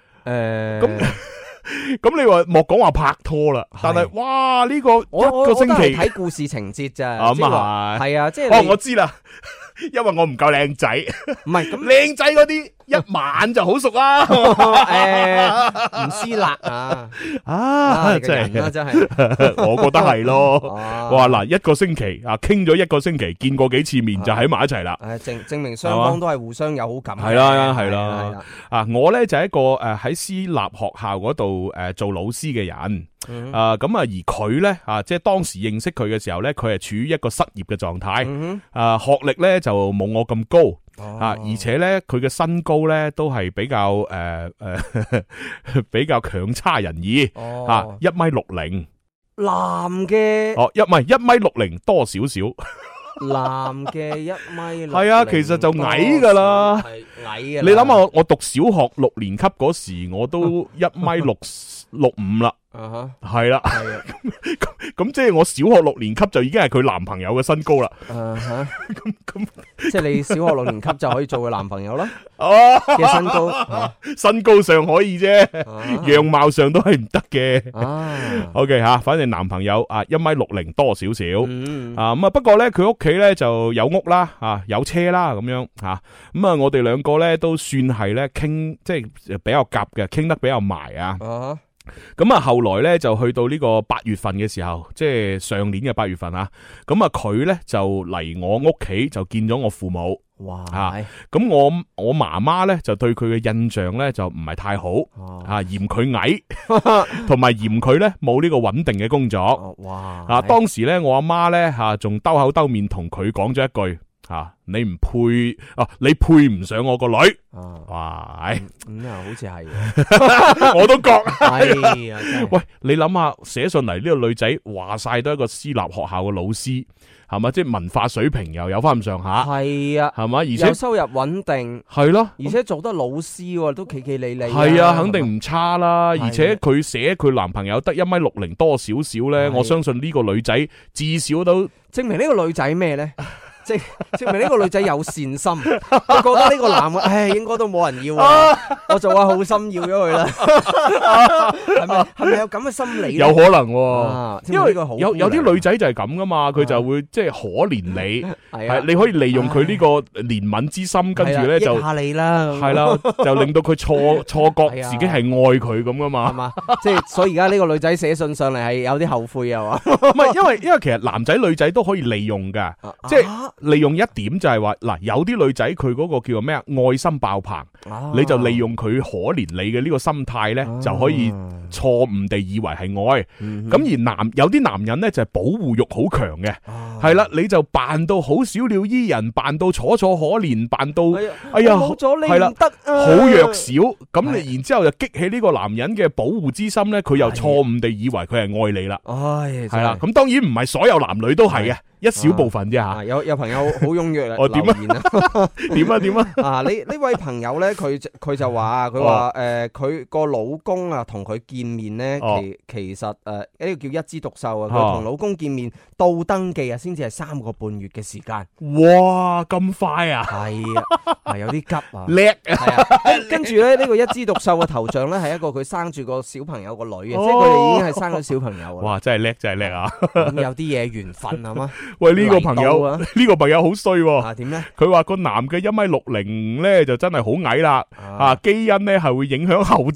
咁你話莫講話拍拖啦，但係哇呢個一個星期睇故事情節咋， 咁啊係啊，即係我知啦，因為我唔夠靚仔， 唔係咁靚仔嗰啲一晚就好熟啦， 唔撕辣啊， 真係真係， 我覺得係咯，哇嗱1個星期啊，傾咗1個星期，見過幾次面就喺埋一齊啦， 證明雙方都係互相有好感， 係啦，啊我咧就係一個喺私立學校嗰度做老師嘅人，咁啊而佢咧即係當時認識佢嘅時候咧，佢係處於一個失業嘅狀態，學歷咧就冇我咁高。而且咧，佢嘅身高咧都係比較比較強差人意，1.60米。 男嘅 1.60米多少少。 男嘅1.60米， 係啊，其實就矮噶啦， 矮嘅。 你諗下，我讀小學6年級嗰時，我都1.65米啦。係啦，咁即係我小學6年級就已經係佢男朋友嘅身高啦。咁即係你小學6年級就可以做佢男朋友啦。嘅身高， 身高上可以啫，樣貌上都係唔得嘅。OK 吓，反正男朋友1.60米多少少。咁啊，不過咧佢屋企咧就有屋啦，有車啦咁樣吓。咁啊，我哋兩個咧都算係咧傾，即係比較夾嘅，傾得比較埋啊。咁啊，後來咧就去到呢個8月份嘅時候，即係上年嘅8月份啊。咁啊，佢咧就嚟我屋企就見咗我父母。 哇！ 咁我媽媽咧就對佢嘅印象咧就唔係太好，嫌佢矮，同埋嫌佢咧冇呢個穩定嘅工作。哇！當時咧我阿媽咧仲兜口兜面同佢講咗一句。你唔配你配唔上我個女。哇！ 咁啊，好似係， 我都覺。 係啊， 喂，你諗下寫上嚟呢個女仔話晒都係一個私立學校嘅老師，係嘛？即係文化水平又有翻咁上下。 係啊， 係嘛？而且有收入穩定。 係咯， 而且做得老師都企企理理。 係啊，肯定唔差啦。而且佢寫佢男朋友得1.60米多少少咧，我相信呢個女仔至少都證明呢個女仔咩咧？證明呢個女仔有善心，佢覺得呢個男嘅，應該都冇人要啊，我做下好心要咗佢啦。係咪有咁嘅心理？ 有可能喎，因為有啲女仔就係咁噶嘛，佢就會即係可憐你，係你可以利用佢呢個憐憫之心，跟住咧就益下你啦， 係啦，就令到佢錯覺自己係愛佢咁噶嘛，係嘛？即係所以而家呢個女仔寫信上嚟係有啲後悔啊嘛？ 唔係，因為其實男仔女仔都可以利用噶，即係。利用一點就係話嗱，有啲女仔佢嗰個叫做咩愛心爆棚，你就利用佢可憐你嘅呢個心態咧，就可以錯誤地以為係愛。咁而有啲男人咧就係保護欲好強嘅，係啦，你就扮到好小鳥依人，扮到楚楚可憐，扮到哎呀冇咗你唔得， 好弱小。咁你然之後就激起呢個男人嘅保護之心咧，佢又錯誤地以為佢係愛你啦。係啦，咁當然唔係所有男女都係嘅。一小部分啫吓， 有朋友好踴躍嚟留言啊，點啊？呢位朋友咧，佢就話佢話佢個老公啊同佢見面咧，其實呢個叫一枝獨秀啊，佢同老公見面到登記啊，先至係3個半月嘅時間。 哇，咁快啊！ 係啊，有啲急啊， 叻啊！跟住咧呢個一枝獨秀嘅頭像咧係一個佢生住個小朋友個女嘅，即係佢哋已經係生咗小朋友。 哇，真係叻啊！ 咁有啲嘢緣分係嘛？ 喂，呢個朋友好衰喎。 點咧？ 佢話個男嘅1.60米咧就真係好矮啦。基因咧係會影響後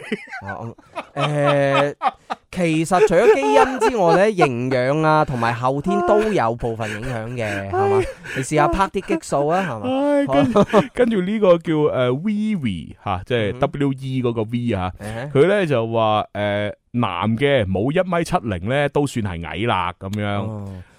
代。其實除咗基因之外咧，營養啊同埋後天都有部分影響嘅，係嘛？你試下拍啲激素啊，係嘛？ 跟住呢個叫Vivi 吓，即係 WE 嗰個 V 啊，佢咧就話男嘅冇1.70米咧都算係矮啦咁樣。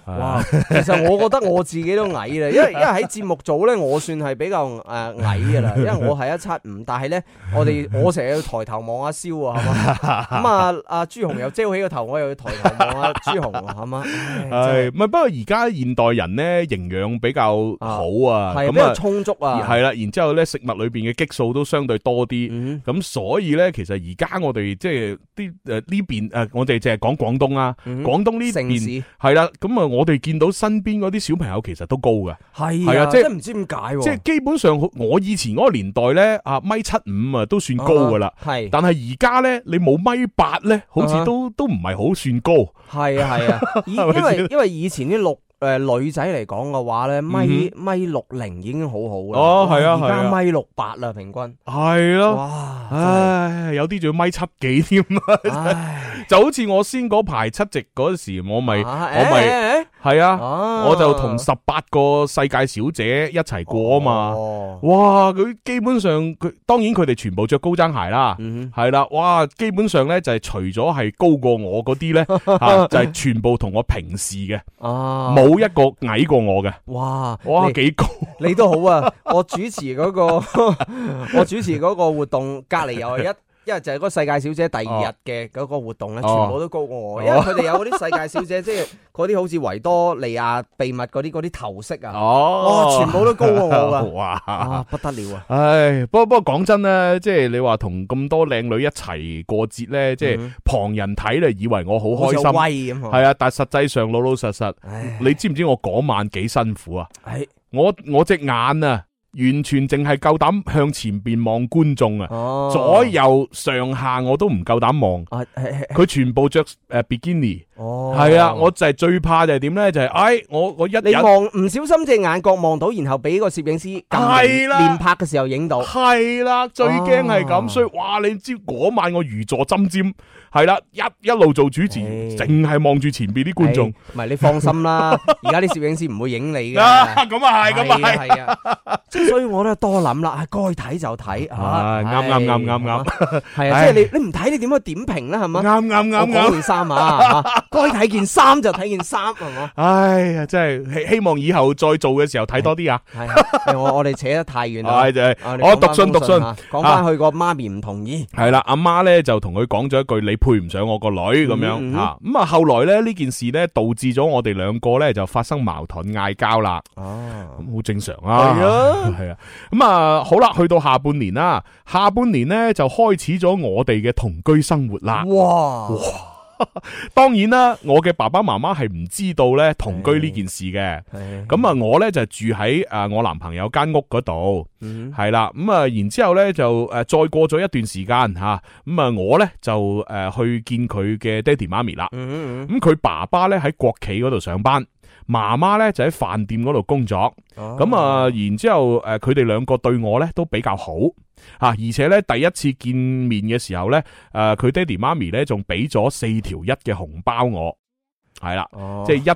哇！其實我覺得我自己都矮啦，因為喺節目組咧，我算係比較矮噶啦，因為我係175，但係咧我成日要抬頭望阿蕭啊，係嘛？咁啊阿朱紅又遮起個頭，我又要抬頭望阿朱紅啊，係嘛？ 係，唔係不過而家現代人咧營養比較好啊， 係比較充足啊， 係啦，然之後咧食物裏邊嘅激素都相對多啲，咁所以咧其實而家我哋即係啲呢邊我哋淨係講廣東啊，廣東呢邊係啦，咁啊我哋見到身邊嗰啲小朋友其實都高嘅， 係啊，即係唔知點解， 即係基本上我以前嗰個年代咧1.75都算高噶啦，係，但係而家咧你冇1.8咧，好似都唔係好算高， 係啊，因為以前啲女仔嚟講嘅話咧，米60已經好好啦。 哦，係啊， 而家1.68啦，平均。 係咯。 哇！ 唉，有啲仲要1.7幾添啊！就好似我先嗰排7夕嗰時，我咪係啊，我就同18個世界小姐一齊過啊嘛。哇！佢基本上當然佢哋全部着高踭鞋啦，係啦。哇！基本上咧就係除咗係高過我嗰啲咧，就係全部同我平視嘅。冇一個矮過我嘅，哇，幾高！你都好啊！我主持嗰個活動，隔離又係一日就係嗰個世界小姐第2日嘅嗰個活動咧，全部都高過我，因為佢哋有嗰啲世界小姐，即係嗰啲好似維多利亞秘密嗰啲頭飾啊，全部都高過我噶，哇，不得了啊！唉，不過講真咧，即係你話同咁多靚女一齊過節咧，即係旁人睇咧，以為我好開心，威咁，係啊，但係實際上老老實實，你知唔知我嗰晚幾辛苦啊？我隻眼啊！完全淨係夠膽向前邊望觀眾啊，左右上下我都唔夠膽望，佢全部着比基尼，係啊，我就係最怕就係點咧，就係我你望唔小心隻眼角望到，然後俾個攝影師係啦連拍嘅時候影到，係啦，最驚係咁，所以哇，你知嗰晚我如坐針尖，係啦，一路做主持，淨係望住前邊啲觀眾，唔係你放心啦，而家啲攝影師唔會影你嘅，咁啊係，咁啊係啊。所以我都多諗啦，該睇就睇，啱，係啊，即係你唔睇，你點樣點評咧？係嘛，啱，講件衫啊，該睇件衫就睇件衫，係嘛？哎呀，真係希望以後再做嘅時候睇多啲啊！係我哋扯得太遠啦，就係我讀信，講翻去個媽咪唔同意，係啦，阿媽咧就同佢講咗一句：你配唔上我個女咁樣吓。咁啊，後來咧呢件事咧導致咗我哋兩個咧就發生矛盾嗌交啦。咁好正常啊。係啊，咁啊好啦，去到下半年啦，下半年咧就開始咗我哋嘅同居生活啦。哇！當然啦，我嘅爸爸媽媽係唔知道咧同居呢件事嘅。咁啊，我咧就住喺我男朋友間屋嗰度，係啦。咁啊，然之後咧就再過咗一段時間吓，咁啊我咧就去見佢嘅爹哋媽咪啦。咁佢爸爸咧喺國企嗰度上班。媽媽咧就喺飯店嗰度工作，咁然之後佢哋兩個對我咧都比較好而且咧第一次見面嘅時候咧，佢爹哋媽咪咧仲俾咗4條1嘅紅包我。係啦，即係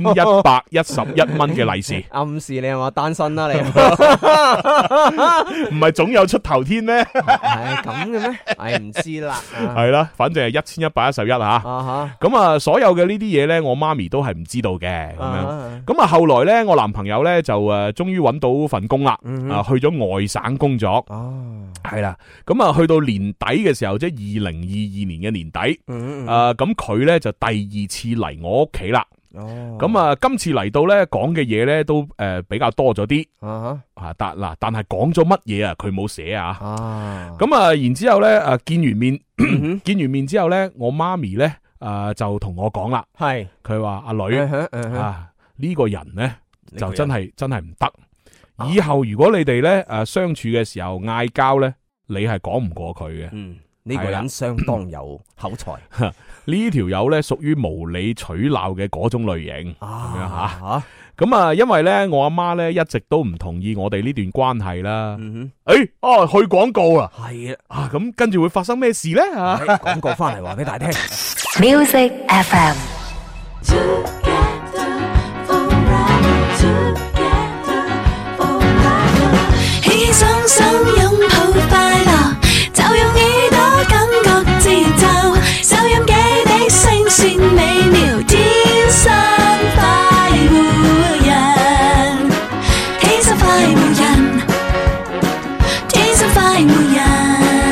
1111蚊嘅利是。暗示你係嘛單身啦，你唔係總有出頭天咩？係咁嘅咩？係唔知啦。係啦，反正係1111吓。咁啊，所有嘅呢啲嘢咧，我媽咪都係唔知道嘅。咁樣，咁啊，後來咧，我男朋友咧就終於揾到份工啦，去咗外省工作。係啦，咁啊，去到年底嘅時候，即係2022年嘅年底，咁佢咧就第2次嚟我屋企啦。咁啊，今次嚟到咧講嘅嘢咧都比較多咗啲。但係講咗乜嘢啊？佢冇寫啊。咁啊，然之後咧見完面之後咧，我媽咪咧就同我講啦，係佢話阿女呢個人咧就真係唔得。以後如果你哋咧相處嘅時候嗌交咧，你係講唔過佢嘅。呢個人相當有口才。呢條友咧屬於無理取鬧嘅嗰種類型。咁樣吓。咁啊，因為咧我阿媽咧一直都唔同意我哋呢段關係啦。去廣告啦。係啊。咁跟住會發生咩事咧？廣告翻嚟話俾大家聽。 Music FM。 雙手擁抱快樂，就用耳朵感覺節奏，收音機的聲線美妙，天生快快活人。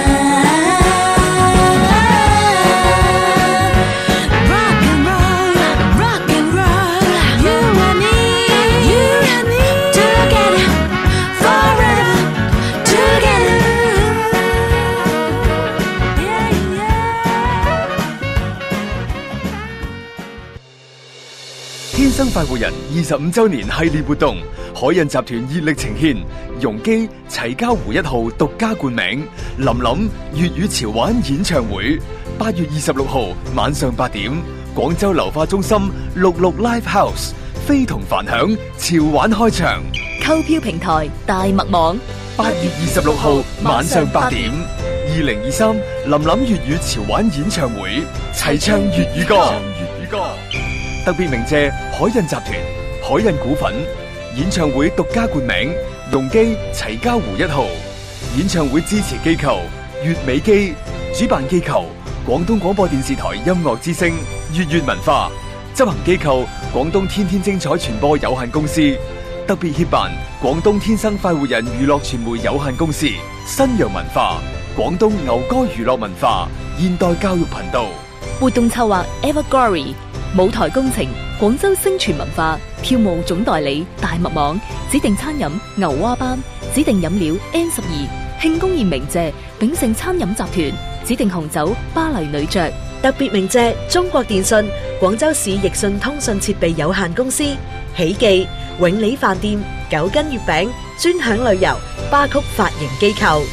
天生快活人25周年系列活動，海印集團熱力呈獻容基齊家湖1號獨家冠名林林粵語潮玩演唱會，8月26號晚上8點，廣州流化中心66 Live House，非同凡響潮玩開場， 購票平台大麥網。 8月26號晚上8點，2023林林粵語潮玩演唱會，齊唱粵語歌。特別鳴謝海印集團、海印股份，演唱會獨家冠名容基齊家湖1號，演唱會支持機構粵美基，主辦機構廣東廣播電視台音樂之聲粵粵文化，執行機構廣東天天精彩傳播有限公司，特別協辦廣東天生快活人娛樂傳媒有限公司，新陽文化，廣東牛歌娛樂文化，現代教育頻道。 活動策劃 Everglory， 舞台工程廣州星傳文化，票務總代理大麥網，指定餐飲牛蛙班，指定飲料 N12， 慶功宴鳴謝炳盛餐飲集團，指定紅酒巴黎女爵。 特別鳴謝中國電信、廣州市易信通訊設備有限公司、喜記、永利飯店、9斤月餅、專享旅遊、巴曲髮型機構。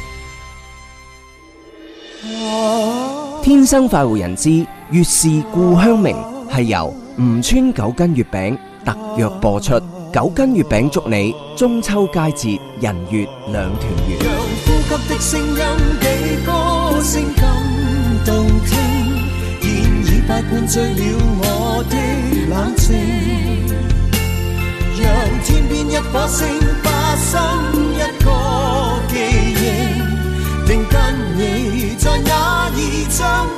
天生快活人之粵是故鄉明，係由吳川9斤月餅特約播出。9斤月餅祝你中秋佳節人月兩團圓。 讓呼吸的聲音比歌聲更動聽，現已不灌醉了我的冷靜，讓天邊一顆星發生一個記憶，定跟你在那兒相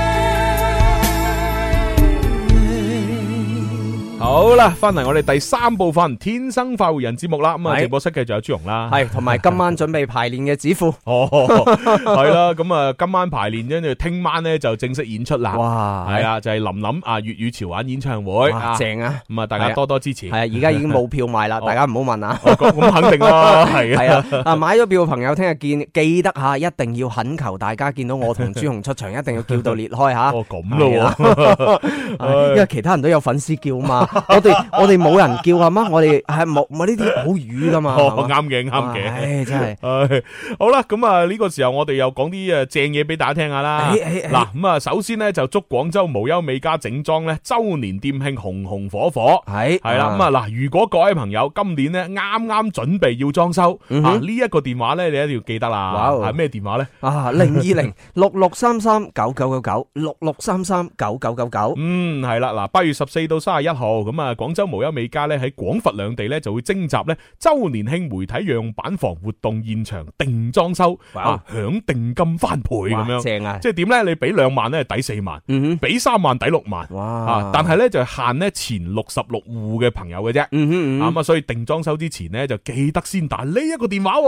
好啦，翻嚟我哋第3部分《天生快活人》節目啦。咁啊，直播室繼續有朱紅啦， 係同埋今晚準備排練嘅子富。 哦，係啦，咁啊，今晚排練，跟住聽晚咧就正式演出啦。 哇， 係啊，就係林林啊粵語潮玩演唱會， 正啊！ 咁啊，大家多多支持。 係啊，而家已經冇票賣啦，大家唔好問啊。 咁肯定啦，係啊。 啊，買咗票嘅朋友聽日見，記得吓，一定要懇求大家見到我同朱紅出場，一定要叫到裂開吓。 哦，咁咯， 因為其他人都有粉絲叫嘛，我哋冇人叫係嘛，我哋係冇呢啲好瘀噶嘛。 啱嘅，啱嘅。 唉，真係。 好啦，咁啊呢個時候我哋又講啲正嘢俾大家聽下啦。嗱，咁啊首先咧就祝廣州無憂美家整裝咧周年店慶紅紅火火。係啦，咁啊嗱，如果各位朋友今年咧啱啱準備要裝修啊，呢一個電話咧你一定要記得啦。係咩電話咧 ？020-6633-9999，6633-9999。 係啦，嗱，8月14到31號，咁啊廣州無憂美家咧喺廣佛兩地咧就會徵集咧周年慶媒體樣板房活動現場定裝修啊，享定金翻倍咁樣。正啊！即係點咧？你俾2萬咧抵4萬，俾3萬抵6萬。哇！但係咧就限咧前66戶嘅朋友嘅啫。咁啊，所以定裝修之前咧就記得先打呢一個電話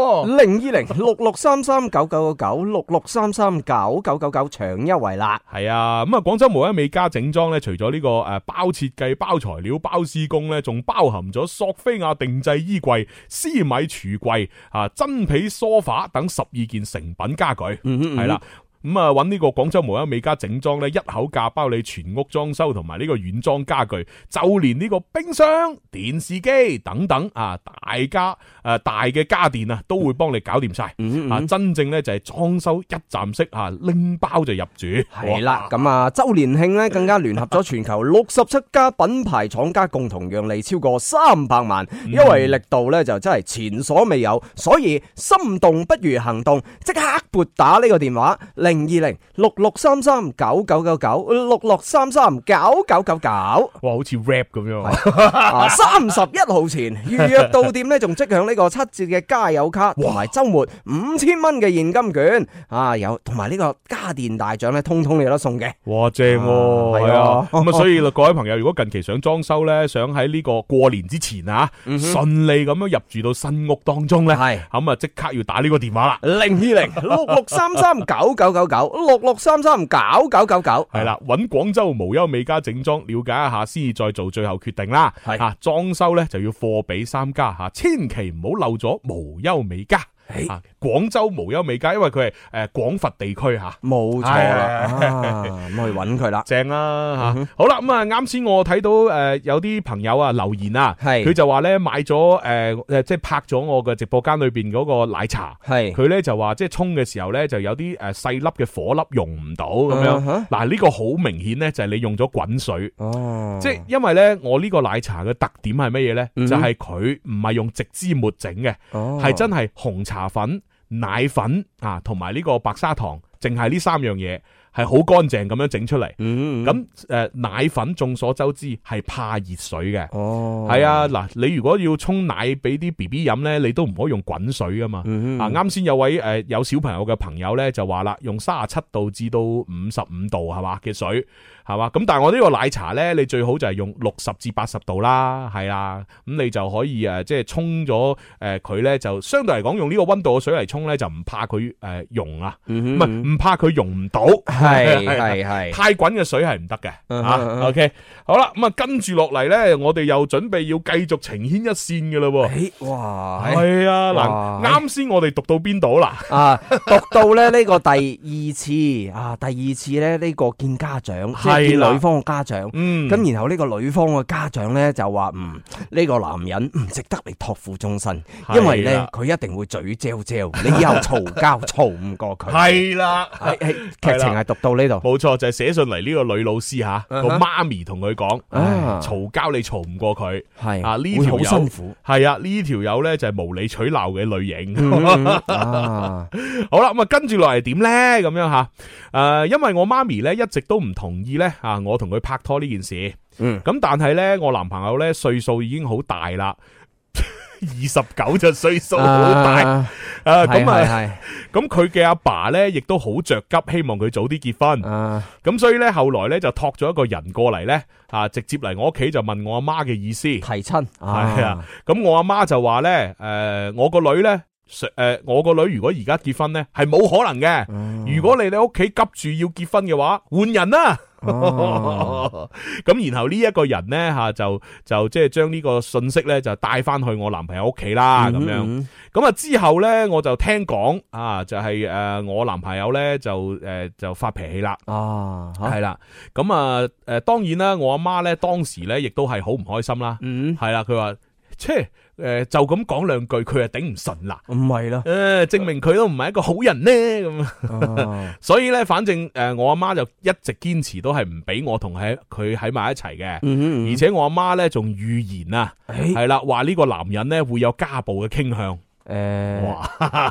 ，020-6633-9999，6633-9999搶優惠啦。 係啊，咁啊廣州無憂美家整裝咧，除咗呢個包設計、包材料、包施工咧，仲包含咗索菲亞定製衣櫃、絲米櫥櫃、真皮梳化等12件成品家具。係啦。咁啊，揾呢個廣州無憂美家整裝咧，一口價包你全屋裝修同埋呢個軟裝家具，就連呢個冰箱、電視機等等啊，大嘅家電啊，都會幫你搞掂晒。真正咧就係裝修一站式啊，拎包就入住。 係啦，咁啊，周年慶咧更加聯合咗全球67家品牌廠家共同讓利超過300萬，優惠力度咧就真係前所未有，所以心動不如行動，即刻撥打呢個電話 02066339999，6633999999。 哇，好似 rap 咁樣。 31號前預約到店咧，仲即享呢個7折嘅加油卡，同埋週末5000蚊嘅現金券啊，有同埋呢個家電大獎咧，通通有得送嘅。 哇，正喎，係啊，咁啊，所以各位朋友，如果近期想裝修咧，想喺呢個過年之前啊，順利咁樣入住到新屋當中咧，係咁啊，即刻要打呢個電話啦，02066339999，66339999， 係啦，揾廣州無憂美家整裝，了解一下先至再做最後決定啦。係啊，裝修咧就要貨比三家吓，千祈唔好漏咗無憂美家。啊！廣州無憂美家，因為佢係廣佛地區吓， 冇錯啦，咁去揾佢啦， 正啦吓。好啦，咁啊，啱先我睇到有啲朋友啊留言啊，佢就話咧買咗即係拍咗我嘅直播間裏邊嗰個奶茶，係佢咧就話即係沖嘅時候咧就有啲細粒嘅火粒溶唔到咁樣。嗱，呢個好明顯咧就係你用咗滾水，即係因為咧我呢個奶茶嘅特點係乜嘢咧？就係佢唔係用直枝末整嘅，係真係紅茶粉、奶粉啊，同埋呢個白砂糖，淨係呢3樣嘢係好乾淨咁樣整出嚟。咁奶粉眾所周知係怕熱水嘅。係啊，嗱，你如果要沖奶俾啲 BB 飲咧，你都唔可以用滾水噶嘛。啱先有位有小朋友嘅朋友咧就話啦，用37度至到55度係嘛嘅水。係嘛？咁但係我呢個奶茶咧，你最好就係用60至80度啦，係啦，咁你就可以即係沖咗佢咧，就相對嚟講用呢個溫度嘅水嚟沖咧，就唔怕佢溶啊，唔怕佢溶唔到，係太滾嘅水係唔得嘅。OK， 好啦，咁啊跟住落嚟咧，我哋又準備要繼續情牽一線嘅嘞喎。哇，係啊，嗱，啱先我哋讀到邊度啦？ 讀到咧呢個第二次咧呢個見家長。見女方嘅家長，咁然後呢個女方嘅家長咧就話呢個男人唔值得你託付終身，因為咧佢一定會嘴嚼嚼，你以後嘈交嘈唔過佢。係啦，劇情係讀到呢度， 冇錯，就係寫信嚟呢個女老師吓，個媽咪同佢講，嘈交你嘈唔過佢，係啊，呢條友好辛苦，係啊，呢條友咧就係無理取鬧嘅類型。好啦，咁啊跟住落嚟點咧？咁樣吓，因為我媽咪咧一直都唔同意咧。我同佢拍拖呢件事，咁但係咧，我男朋友咧歲數已經好大啦，29就歲數好大，咁佢嘅阿爸咧亦都好着急，希望佢早啲結婚，咁所以咧後來咧就託咗一個人過嚟咧，直接嚟我屋企就問我阿媽嘅意思，提親， 係啊，咁我阿媽就話咧，我個女咧。我個女如果而家結婚咧，係冇可能嘅。如果你哋屋企急住要結婚嘅話，換人啦。咁然後呢一個人咧就即係將呢個信息咧就帶翻去我男朋友屋企啦。咁樣咁啊之後咧我就聽講就係我男朋友咧就發脾氣啦。係啦。咁當然啦，我阿媽咧當時咧亦都係好唔開心啦。係啦，佢話就咁講兩句，佢就頂唔順啦。唔係啦，證明佢都唔係一個好人呢。咁。所以咧，反正我阿媽就一直堅持都係唔俾我同佢喺埋一齊嘅。而且我阿媽咧仲預言啊，係啦，話呢個男人咧會有家暴嘅傾向。哇！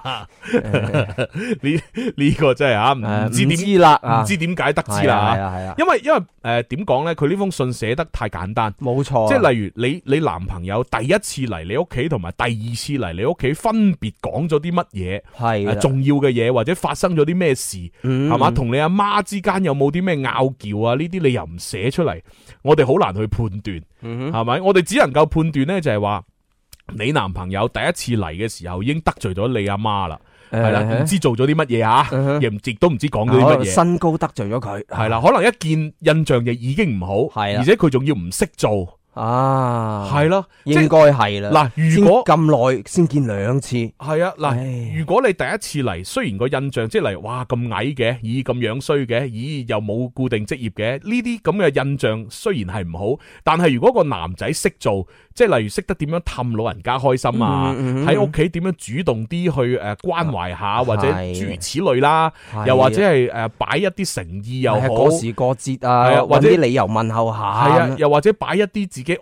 呢個真係唔知點知啦，唔知點解得知啦。係啊，因為點講咧？佢呢封信寫得太簡單，冇錯。即係例如你男朋友第一次嚟你屋企，同埋第二次嚟你屋企，分別講咗啲乜嘢？係重要嘅嘢，或者發生咗啲咩事？係嘛？同你阿媽之間有冇啲咩拗撬啊？呢啲你又唔寫出嚟，我哋好難去判斷。係咪？我哋只能夠判斷咧，就係話。你男朋友第一次嚟嘅時候已經得罪咗你阿媽啦，係啦，唔知做咗啲乜嘢啊，亦都唔知講咗啲乜嘢。身高得罪咗佢，係啦，可能一見印象亦已經唔好，係，而且佢仲要唔識做。係咯，應該係啦。嗱，如果咁耐先見2次，係啊。嗱，如果你第一次嚟，雖然個印象即係嚟，哇咁矮嘅，咦咁樣衰嘅，咦又冇固定職業嘅，呢啲咁嘅印象雖然係唔好，但係如果個男仔識做，即係例如識得點樣氹老人家開心啊，喺屋企點樣主動啲去關懷下，或者諸如此類啦，又或者係擺一啲誠意又好，過時過節啊，或者啲理由問候下，係啊，又或者擺一啲自己屋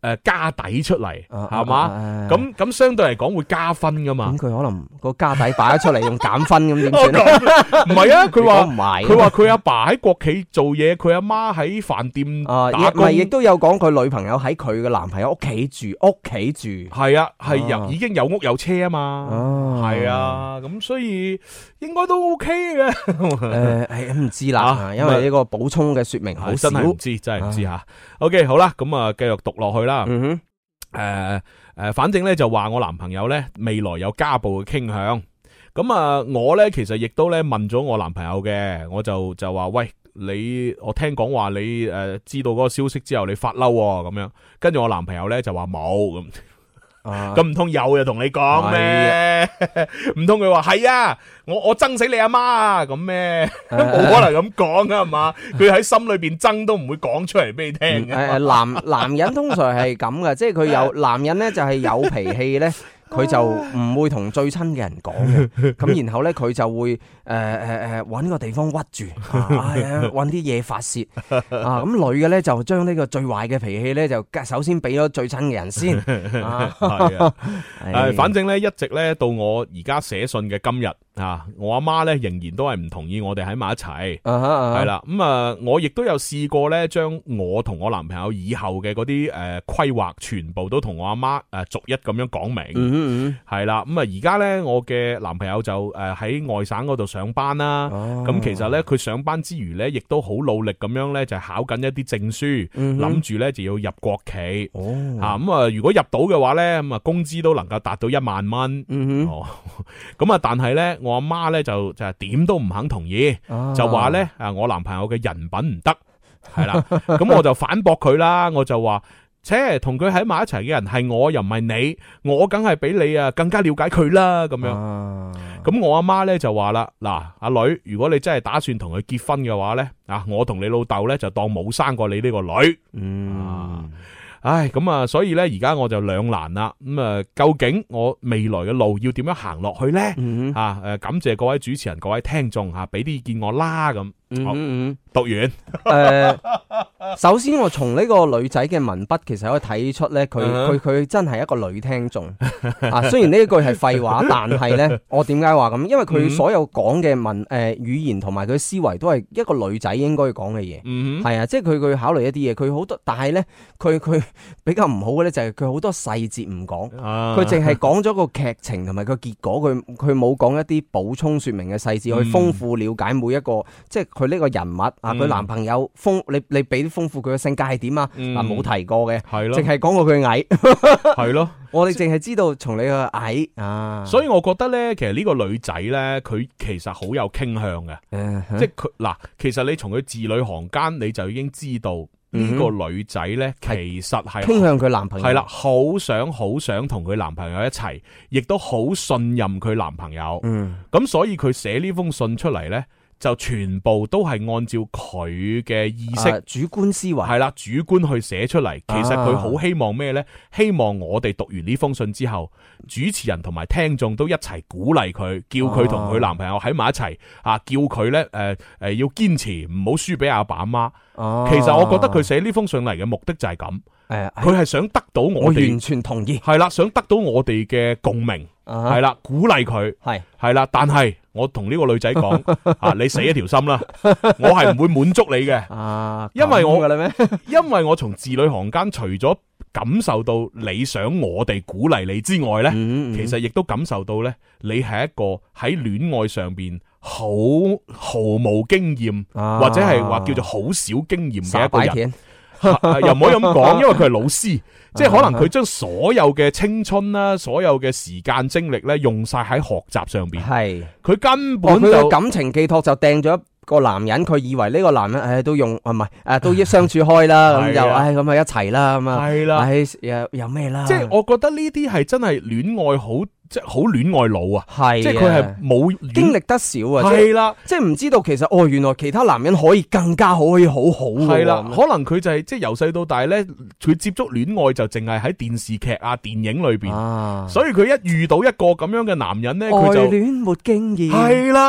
家底出嚟，係嘛？咁相對嚟講會加分噶嘛？ 咁佢可能個家底擺咗出嚟用減分咁點算？ 唔係啊，佢話唔係， 佢話佢阿爸喺國企做嘢，佢阿媽喺飯店打工， 亦都有講佢女朋友喺佢嘅男朋友屋企住。 係啊，係已經有屋有車啊嘛，係啊，咁所以應該都 OK 嘅。 唔知啦，因為呢個補充嘅說明好少， 真係唔知，真係唔知吓。OK， 好啦，咁啊，繼續讀落去啦。反正咧就話我男朋友咧未來有家暴嘅傾向。咁啊，我咧其實亦都咧問咗我男朋友嘅，我就話喂，我聽講話你知道嗰個消息之後你發嬲咁樣，跟住我男朋友咧就話冇咁。咁唔通有就同你講咩？唔通佢話係啊？我憎死你阿媽啊？咁咩？冇可能咁講噶係嘛？佢喺心裏邊憎都唔會講出嚟俾你聽嘅。 男人通常係咁嘅，即係佢有男人咧就係有脾氣咧。佢就唔會同最親嘅人講嘅，咁然後咧佢就會揾個地方屈住，揾啲嘢發泄咁女嘅咧就將呢個最壞嘅脾氣咧就首先俾咗最親嘅人先。 反正咧一直咧到我而家寫信嘅今日我阿媽咧仍然都係唔同意我哋喺埋一齊，係啦。咁我亦都有試過咧將我同我男朋友以後嘅嗰啲規劃全部都同我阿媽逐一咁樣講明。係啦，咁而家咧我嘅男朋友就喺外省嗰度上班啦。咁其實咧佢上班之餘咧，亦都好努力咁樣咧就考緊一啲證書，諗住咧就要入國企。咁如果入到嘅話咧，咁工資都能夠達到1萬蚊。咁但係咧我阿媽咧就點都唔肯同意，就話咧我男朋友嘅人品唔得，係啦。咁我就反駁佢啦，我就話。同佢喺埋一齊嘅人係我，又唔係你，我梗係比你更加了解佢啦，咁樣。咁我阿媽咧就話啦，嗱，阿女，如果你真係打算同佢結婚嘅話咧，我同你老豆咧就當冇生過你呢個女。咁所以咧而家我就兩難啦。究竟我未來嘅路要點樣行落去咧？感謝各位主持人、各位聽眾俾啲意見我啦。咁讀完。 首先我從呢個女仔嘅文筆其實可以睇出咧，佢真係一個女聽眾。雖然呢一句係廢話，但係咧我點解話咁？因為佢所有講嘅語言同埋佢思維都係一個女仔應該講嘅嘢。係啊，即係佢考慮一啲嘢，佢好多，但係咧佢比較唔好嘅咧就係佢好多細節唔講，佢淨係講咗個劇情同埋個結果，佢冇講一啲補充說明嘅細節去豐富了解每一個，即係佢呢個人物佢男朋友你俾啲豐富佢嘅性格係點啊？冇提過嘅，淨係講過佢矮， 係咯。 我哋淨係知道從你個矮所以我覺得咧，其實呢個女仔咧，佢其實好有傾向嘅，即係佢其實你從佢字裏行間你就已經知道。呢個女仔呢，其實係傾向佢男朋友， 係啦，好想同佢男朋友一齊，亦都好信任佢男朋友。咁所以佢寫呢封信出嚟呢，就全部都係按照佢嘅意識、 主觀思維， 係啦，主觀去寫出嚟。其實佢好希望咩呢？希望我哋讀完呢封信之後，主持人同埋聽眾都一齊鼓勵佢，叫佢同佢男朋友喺埋一齊叫佢呢要堅持，唔好輸俾阿爸阿媽。其實我覺得佢寫呢封信嚟嘅目的就係咁，佢係想得到我哋完全同意， 係啦，想得到我哋嘅共鳴，係啦，鼓勵佢，係啦。但係我同呢個女仔講，你死一條心啦，我係唔會滿足你嘅，因為我從字裏行間除咗感受到你想我哋鼓勵你之外呢，其實亦都感受到呢，你係一個喺戀愛上邊毫無經驗，或者係話叫做好少經驗嘅一個人，又唔可以咁講，因為佢係老師，即係可能佢將所有嘅青春啦，所有嘅時間精力咧，用晒喺學習上邊。係佢根本就佢感情寄託就掟咗個男人，佢以為呢個男人都用唔係都相處開啦，咁就咁啊一齊啦，咁啊係啦，有咩啦？ 即係我覺得呢啲係真係戀愛好。即係好戀愛腦啊，係即係佢係冇經歷得少啊， 係啦， 即係唔知道其實原來其他男人可以更加好，可以好好係啦，可能佢就係即係由細到大咧，佢接觸戀愛就淨係喺電視劇啊、電影裏邊，所以佢一遇到一個咁樣嘅男人咧，佢就愛戀沒經驗， 係啦。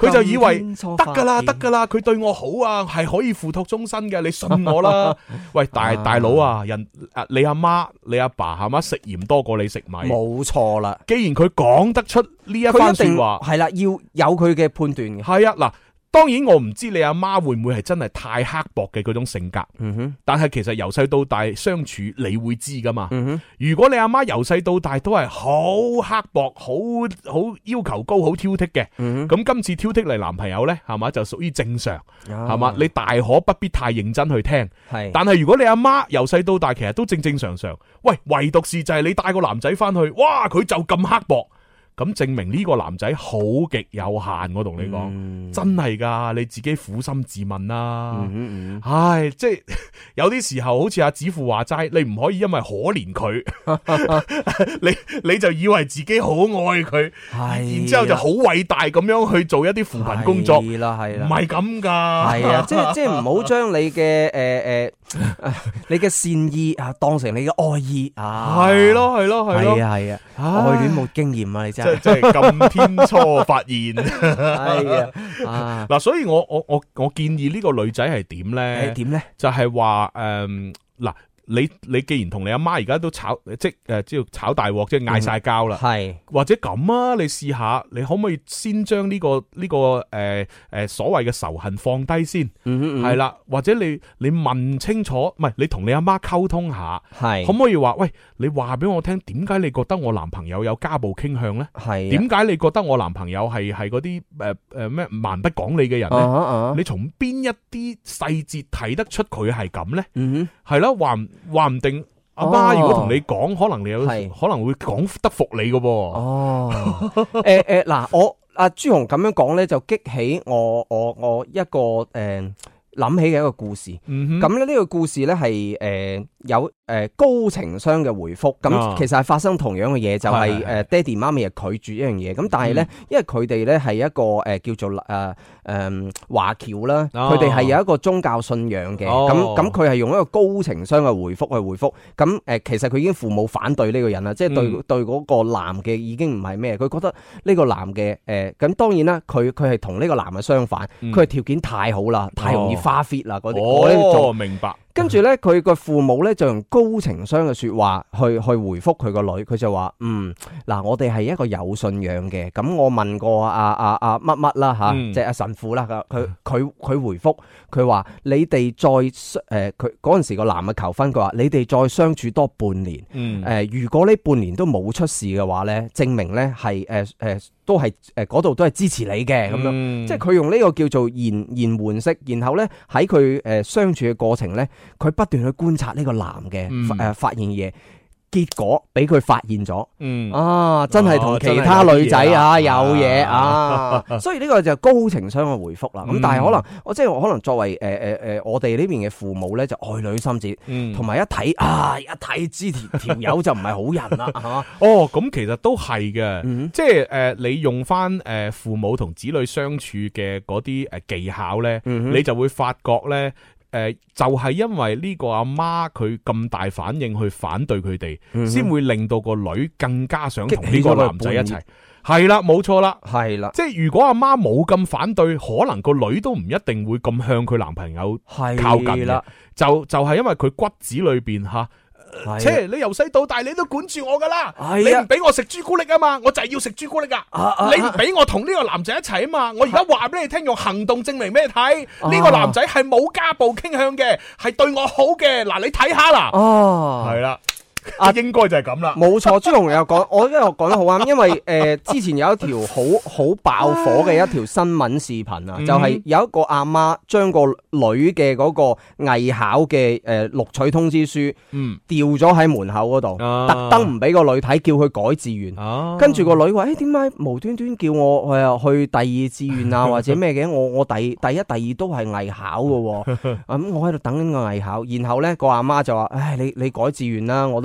佢就以為得㗎啦，佢對我好啊，係可以付託終身嘅，你信我啦。喂，大佬啊，你阿媽你阿爸係嘛食鹽多過你食米， 冇錯啦。 既然佢講得出呢一番說話， 係啦，要有佢嘅判斷嘅。 係啊，嗱。當然我唔知你阿媽會唔會係真係太刻薄嘅嗰種性格，但係其實由細到大相處你會知噶嘛。如果你阿媽由細到大都係好刻薄、好要求高、好挑剔嘅，咁今次挑剔嚟男朋友呢，係嘛就屬於正常，係嘛你大可不必太認真去聽。但係如果你阿媽由細到大其實都正正常常，喂，唯獨是就係你帶個男仔翻去，哇佢就咁刻薄。咁證明呢個男仔好極有限，我同你講，真係噶，你自己苦心自問啦。唉，即係有啲時候，好似阿子富話齋，你唔可以因為可憐佢，你就以為自己好愛佢，然之後就好偉大咁樣去做一啲扶貧工作，係啦，唔係咁噶。 係啊，即係唔好將你嘅你嘅善意啊當成你嘅愛意啊。係咯，係啊，愛戀冇經驗啊，你真係。 即係咁天初發現， 係啊， 嗱，所以我建議呢個女仔係點咧？ 點咧？ 就係話嗱。你既然同你阿媽而家都炒即係炒大鑊，即係嗌晒交啦，係或者咁啊？你試下，你可唔可以先將呢個所謂嘅仇恨放低先？係啦，或者你問清楚，唔係你同你阿媽溝通下，係可唔可以話喂？你話俾我聽，點解你覺得我男朋友有家暴傾向咧？係點解你覺得我男朋友係嗰啲咩蠻不講理嘅人咧？你從邊一啲細節睇得出佢係咁咧？係啦，話唔定阿媽如果同你講，可能你可能會講得服你嘅噃。 嗱，我阿朱紅咁樣講咧，就激起我一個諗起嘅一個故事。咁咧呢個故事咧係有高情商嘅回覆，咁其實係發生同樣嘅嘢，就係爹哋媽咪係拒絕一樣嘢，咁但係咧，因為佢哋咧係一個叫做華僑啦，佢哋係有一個宗教信仰嘅，咁佢係用一個高情商嘅回覆去回覆，咁其實佢已經父母反對呢個人啦，即係對嗰個男嘅已經唔係咩，佢覺得呢個男嘅咁當然啦，佢係同呢個男嘅相反，佢係條件太好啦，太容易花 fit 啦嗰啲， 明白。 跟住咧，佢個父母咧就用高情商嘅說話去回覆佢個女，佢就話嗱，我哋係一個有信仰嘅，咁我問過乜乜啦吓，即係阿神父啦，佢回覆佢話你哋再佢嗰陣時個男嘅求婚，佢話你哋再相處多半年，如果呢半年都冇出事嘅話咧，證明咧係都係嗰度都係支持你嘅咁樣，即係佢用呢個叫做延緩式，然後咧喺佢相處嘅過程咧，佢不斷去觀察呢個男嘅發現嘢，結果俾佢發現咗，真係同其他女仔有嘢啊，所以呢個就高情商嘅回覆啦。咁但係可能可能作為我哋呢邊嘅父母咧，就愛女心切，同埋一睇知條友就唔係好人啦，係嘛？ 咁其實都係嘅，即係你用翻父母同子女相處嘅嗰啲技巧咧，你就會發覺咧。就係因為呢個阿媽佢咁大反應去反對佢哋，先會令到個女更加想同呢個男仔一齊。係啦，冇錯啦，係啦。即係如果阿媽冇咁反對，可能個女都唔一定會咁向佢男朋友靠近嘅。就係因為佢骨子裏邊吓。你由細到大你都管住我噶啦，你唔俾我食朱古力啊嘛，我就係要食朱古力啊！你唔俾我同呢個男仔一齊啊嘛，我而家話俾你聽，用行動證明俾你睇，呢個男仔係冇家暴傾向嘅，係對我好嘅。嗱，你睇下啦，係啦。應該就係咁啦， 冇錯。朱紅又講，我因為我講得好啱，因為之前有一條好爆火嘅一條新聞視頻啊，就係有一個阿媽將個女嘅嗰個藝考嘅錄取通知書，掉咗喺門口嗰度，特登唔俾個女睇，叫佢改志願。跟住個女話：點解無端端叫我去第二志願啊，或者咩嘅？我第一、第二都係藝考嘅，咁我喺度等緊個藝考。然後咧個阿媽就話：你改志願啦，我都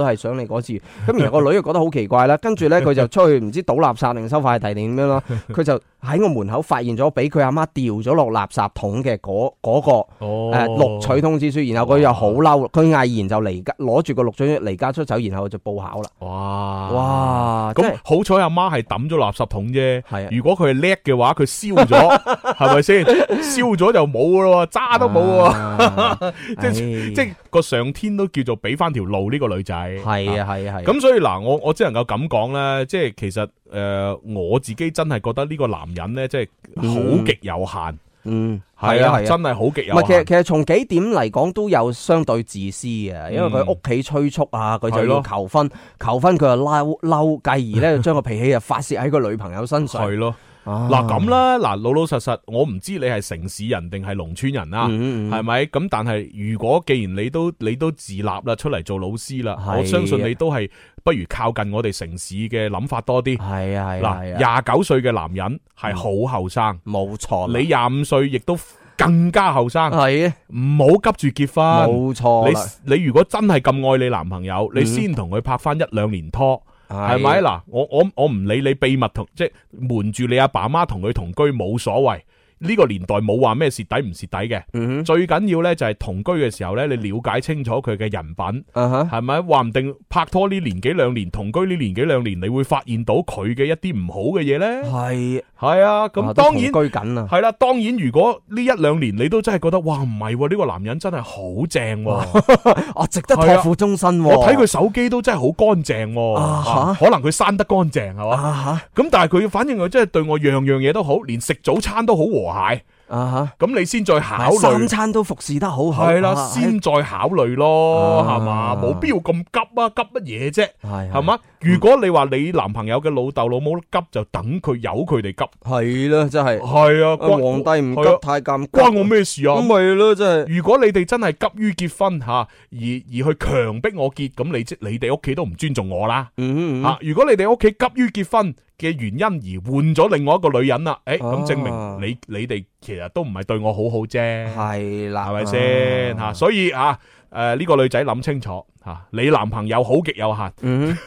係想你嗰次。咁然後個女就覺得好奇怪啦，跟住咧佢就出去唔知倒垃圾定收快遞定點樣咯，佢就喺我門口發現咗俾佢阿媽掉咗落垃圾桶嘅嗰個錄取通知書，然後佢又好嬲，佢毅然就離家攞住個錄取離家出走，然後就報考啦。哇！ 咁好彩阿媽係抌咗垃圾桶啫， 係啊， 如果佢係叻嘅話，佢燒咗，係咪先？燒咗就冇噶咯，渣都冇喎。即係個上天都叫做俾翻條路呢個女仔。 係啊係啊係。 咁所以嗱，我只能夠咁講咧，即係其實我自己真係覺得呢個男人咧，即係好極有限。係啊，真係好極有限。 唔係，其實從幾點嚟講都有相對自私嘅，因為佢屋企催促啊，佢就要求婚，求婚佢就嬲，繼而咧就將個脾氣就發泄喺個女朋友身上。 係咯。嗱咁啦，嗱老老實實，我唔知你係城市人定係農村人啦，係咪？咁但係如果既然你都自立啦，出嚟做老師啦，我相信你都係不如靠近我哋城市嘅諗法多啲。係啊係啊，嗱29歲嘅男人係好後生， 冇錯。 你25歲亦都更加後生， 係啊， 唔好急住結婚。 冇錯。 你如果真係咁愛你男朋友，你先同佢拍翻1-2年拖。係咪嗱？我唔理你秘密同即係瞞住你阿爸媽同佢同居冇所謂。呢個年代冇話咩蝕底唔蝕底嘅，最緊要咧就係同居嘅時候咧，你了解清楚佢嘅人品，係咪？話唔定拍拖呢年幾兩年，同居呢年幾兩年，你會發現到佢嘅一啲唔好嘅嘢咧。係啊，咁當然同居緊啊。 係啦，當然如果呢1-2年你都真係覺得哇唔係呢個男人真係好正， 值得託付終身。 我睇佢手機都真係好乾淨，可能佢生得乾淨係嘛。咁但係佢反正佢真係對我樣樣嘢都好，連食早餐都好和諧。咁你先再考慮三餐都服侍得好好， 係啦，先再考慮咯，係嘛，冇必要咁急啊，急乜嘢啫，係嘛？如果你話你男朋友嘅老豆老母急，就等佢由佢哋急， 係啦，真係係啊， 皇帝唔急太監， 關我咩事啊？ 咁咪咯，真係。 如果你哋真係急於結婚吓，而去強迫我結，咁你哋屋企都唔尊重我啦。如果你哋屋企急於結婚嘅原因而換咗另外一個女人啦，咁證明你哋其實都唔係對我好好啫， 係啦， 係咪先吓？所以呢個女仔諗清楚吓，你男朋友好極有限，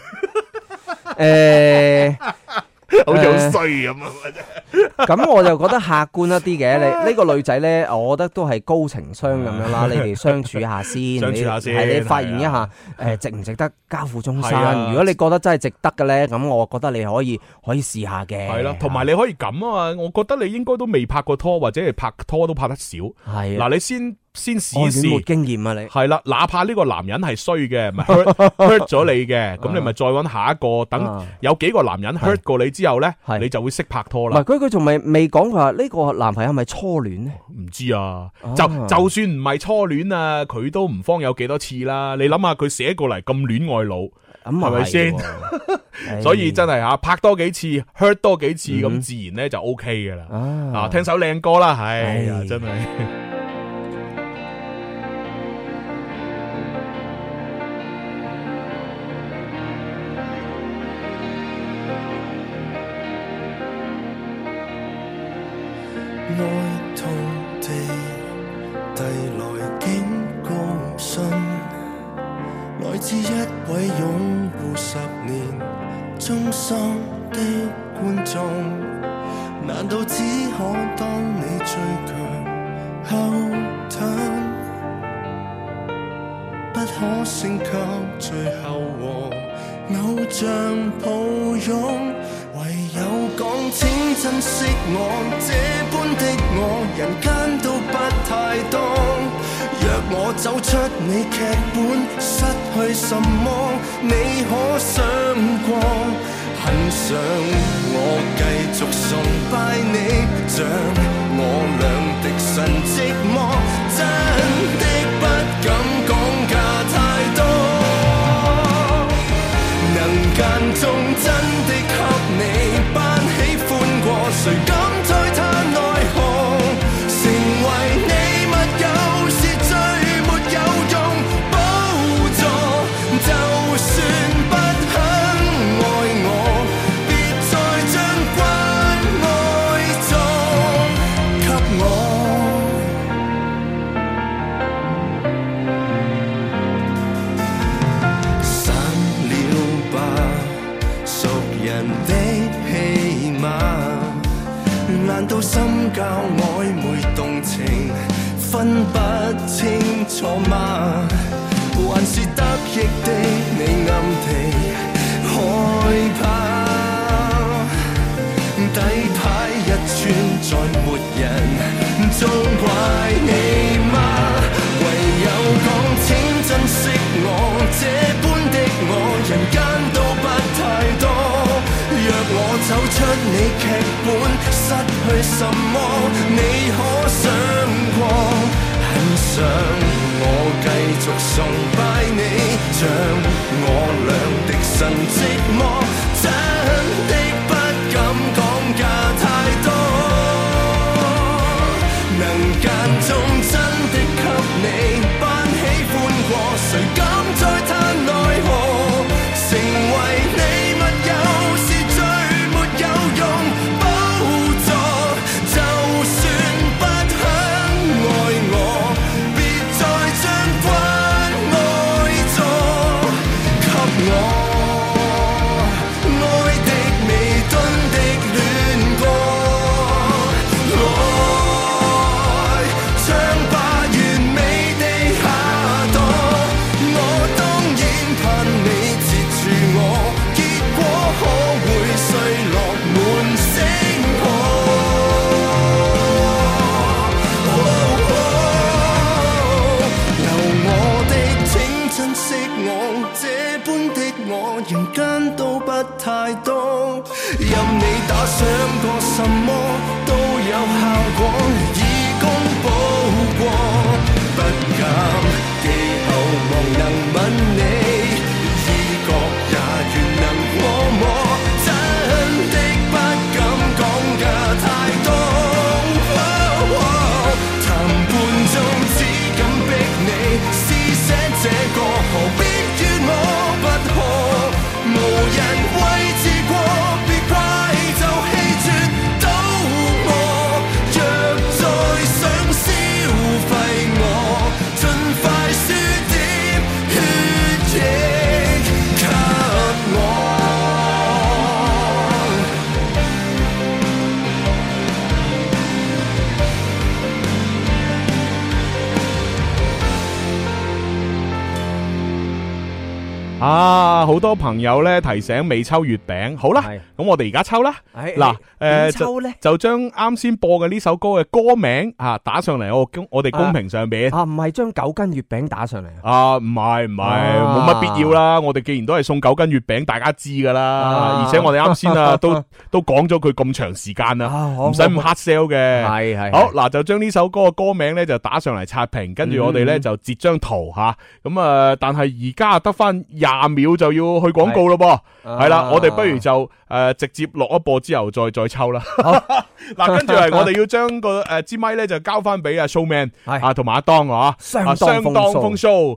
好似好衰咁啊！ 咁我就覺得客觀一啲嘅，你呢個女仔咧，我覺得都係高情商咁樣啦。你哋相處下先， 相處下先， 係你發現一下，值唔值得交付終身？如果你覺得真係值得嘅咧，咁我覺得你可以試下嘅。係啦， 同埋你可以咁啊嘛，我覺得你應該都未拍過拖，或者係拍拖都拍得少。係嗱，你先試一試， 冇經驗啊你。 係啦，哪怕呢個男人係衰嘅，咪 hurt 咗你嘅，咁你咪再揾下一個，等有幾個男人 hurt 過你之後咧，你就會識拍拖啦。 唔係佢仲未講佢話呢個男朋友係咪初戀咧？ 唔知啊，就算唔係初戀啊，佢都唔方有幾多次啦。你諗下佢寫過嚟咁戀愛腦，係咪先？所以真係吓拍多幾次 hurt 多幾次，咁自然咧就 OK 噶啦。聽首靚歌啦，係呀，真係。 愛痛地遞來警告信，來自一位擁護10年忠心的觀眾，難道只可當你最強後盾，不可升級最後和偶像抱擁，唯有講請珍惜我，這般的我人間都不太多。若我走出你劇本，失去什麼你可想過？很想我繼續崇拜你，像我倆的神寂寞，真的不敢講價太多，能間中真的給你班喜歡過，誰敢推他奈何？成為你密友是最沒有用寶座，就算不肯愛我，別再將關愛做到心交曖昧動情，分不清楚嗎？還是得意的你暗地害怕？底牌一穿再沒人，縱怪你嗎？唯有講請珍惜我，這般的我人間都不太多。若我走出你劇本，失去什麼你可想過？很想我繼續崇拜你，像我倆的神寂寞，真的不敢講價太多。能間中真的給你扮喜歡過，誰敢再嘆奈何？成為你密友是最沒有用寶座，就算不肯愛我，別再將關愛座給我。愛的未敦的戀過，來唱吧完美地下墮。我當然盼你截住我，結果可會碎落滿星河。由我的請珍惜我，這般的我人間都不太多。任你打賞過什麼都有效果，以功補過，不敢記後望能吻你，已覺也願能摸摸，真的不敢講價太多。談判中只敢逼你施捨這個，何必於我不可？無人為自過，別怪就棄絕到我。若再想消費我，盡快輸點血液給我。 啊，好多朋友咧提醒未抽月餅，好啦，咁我哋而家抽啦。嗱， 點抽呢？ 就將啱先播嘅呢首歌嘅歌名打上嚟我哋公屏上邊。 唔係將9斤月餅打上嚟。 唔係，冇乜必要啦。我哋既然都係送9斤月餅，大家知噶啦。而且我哋啱先都講咗佢咁長時間啦，唔使咁 hard sell 嘅。係。好嗱，就將呢首歌嘅歌名咧就打上嚟刷屏，跟住我哋咧就截張圖吓。咁但係而家得翻20秒就要去廣告咯噃，係啦，我哋不如就直接落一播之後再抽啦。嗱，跟住係我哋要將個支咪咧就交翻俾阿 Showman 同埋阿當相當風騷。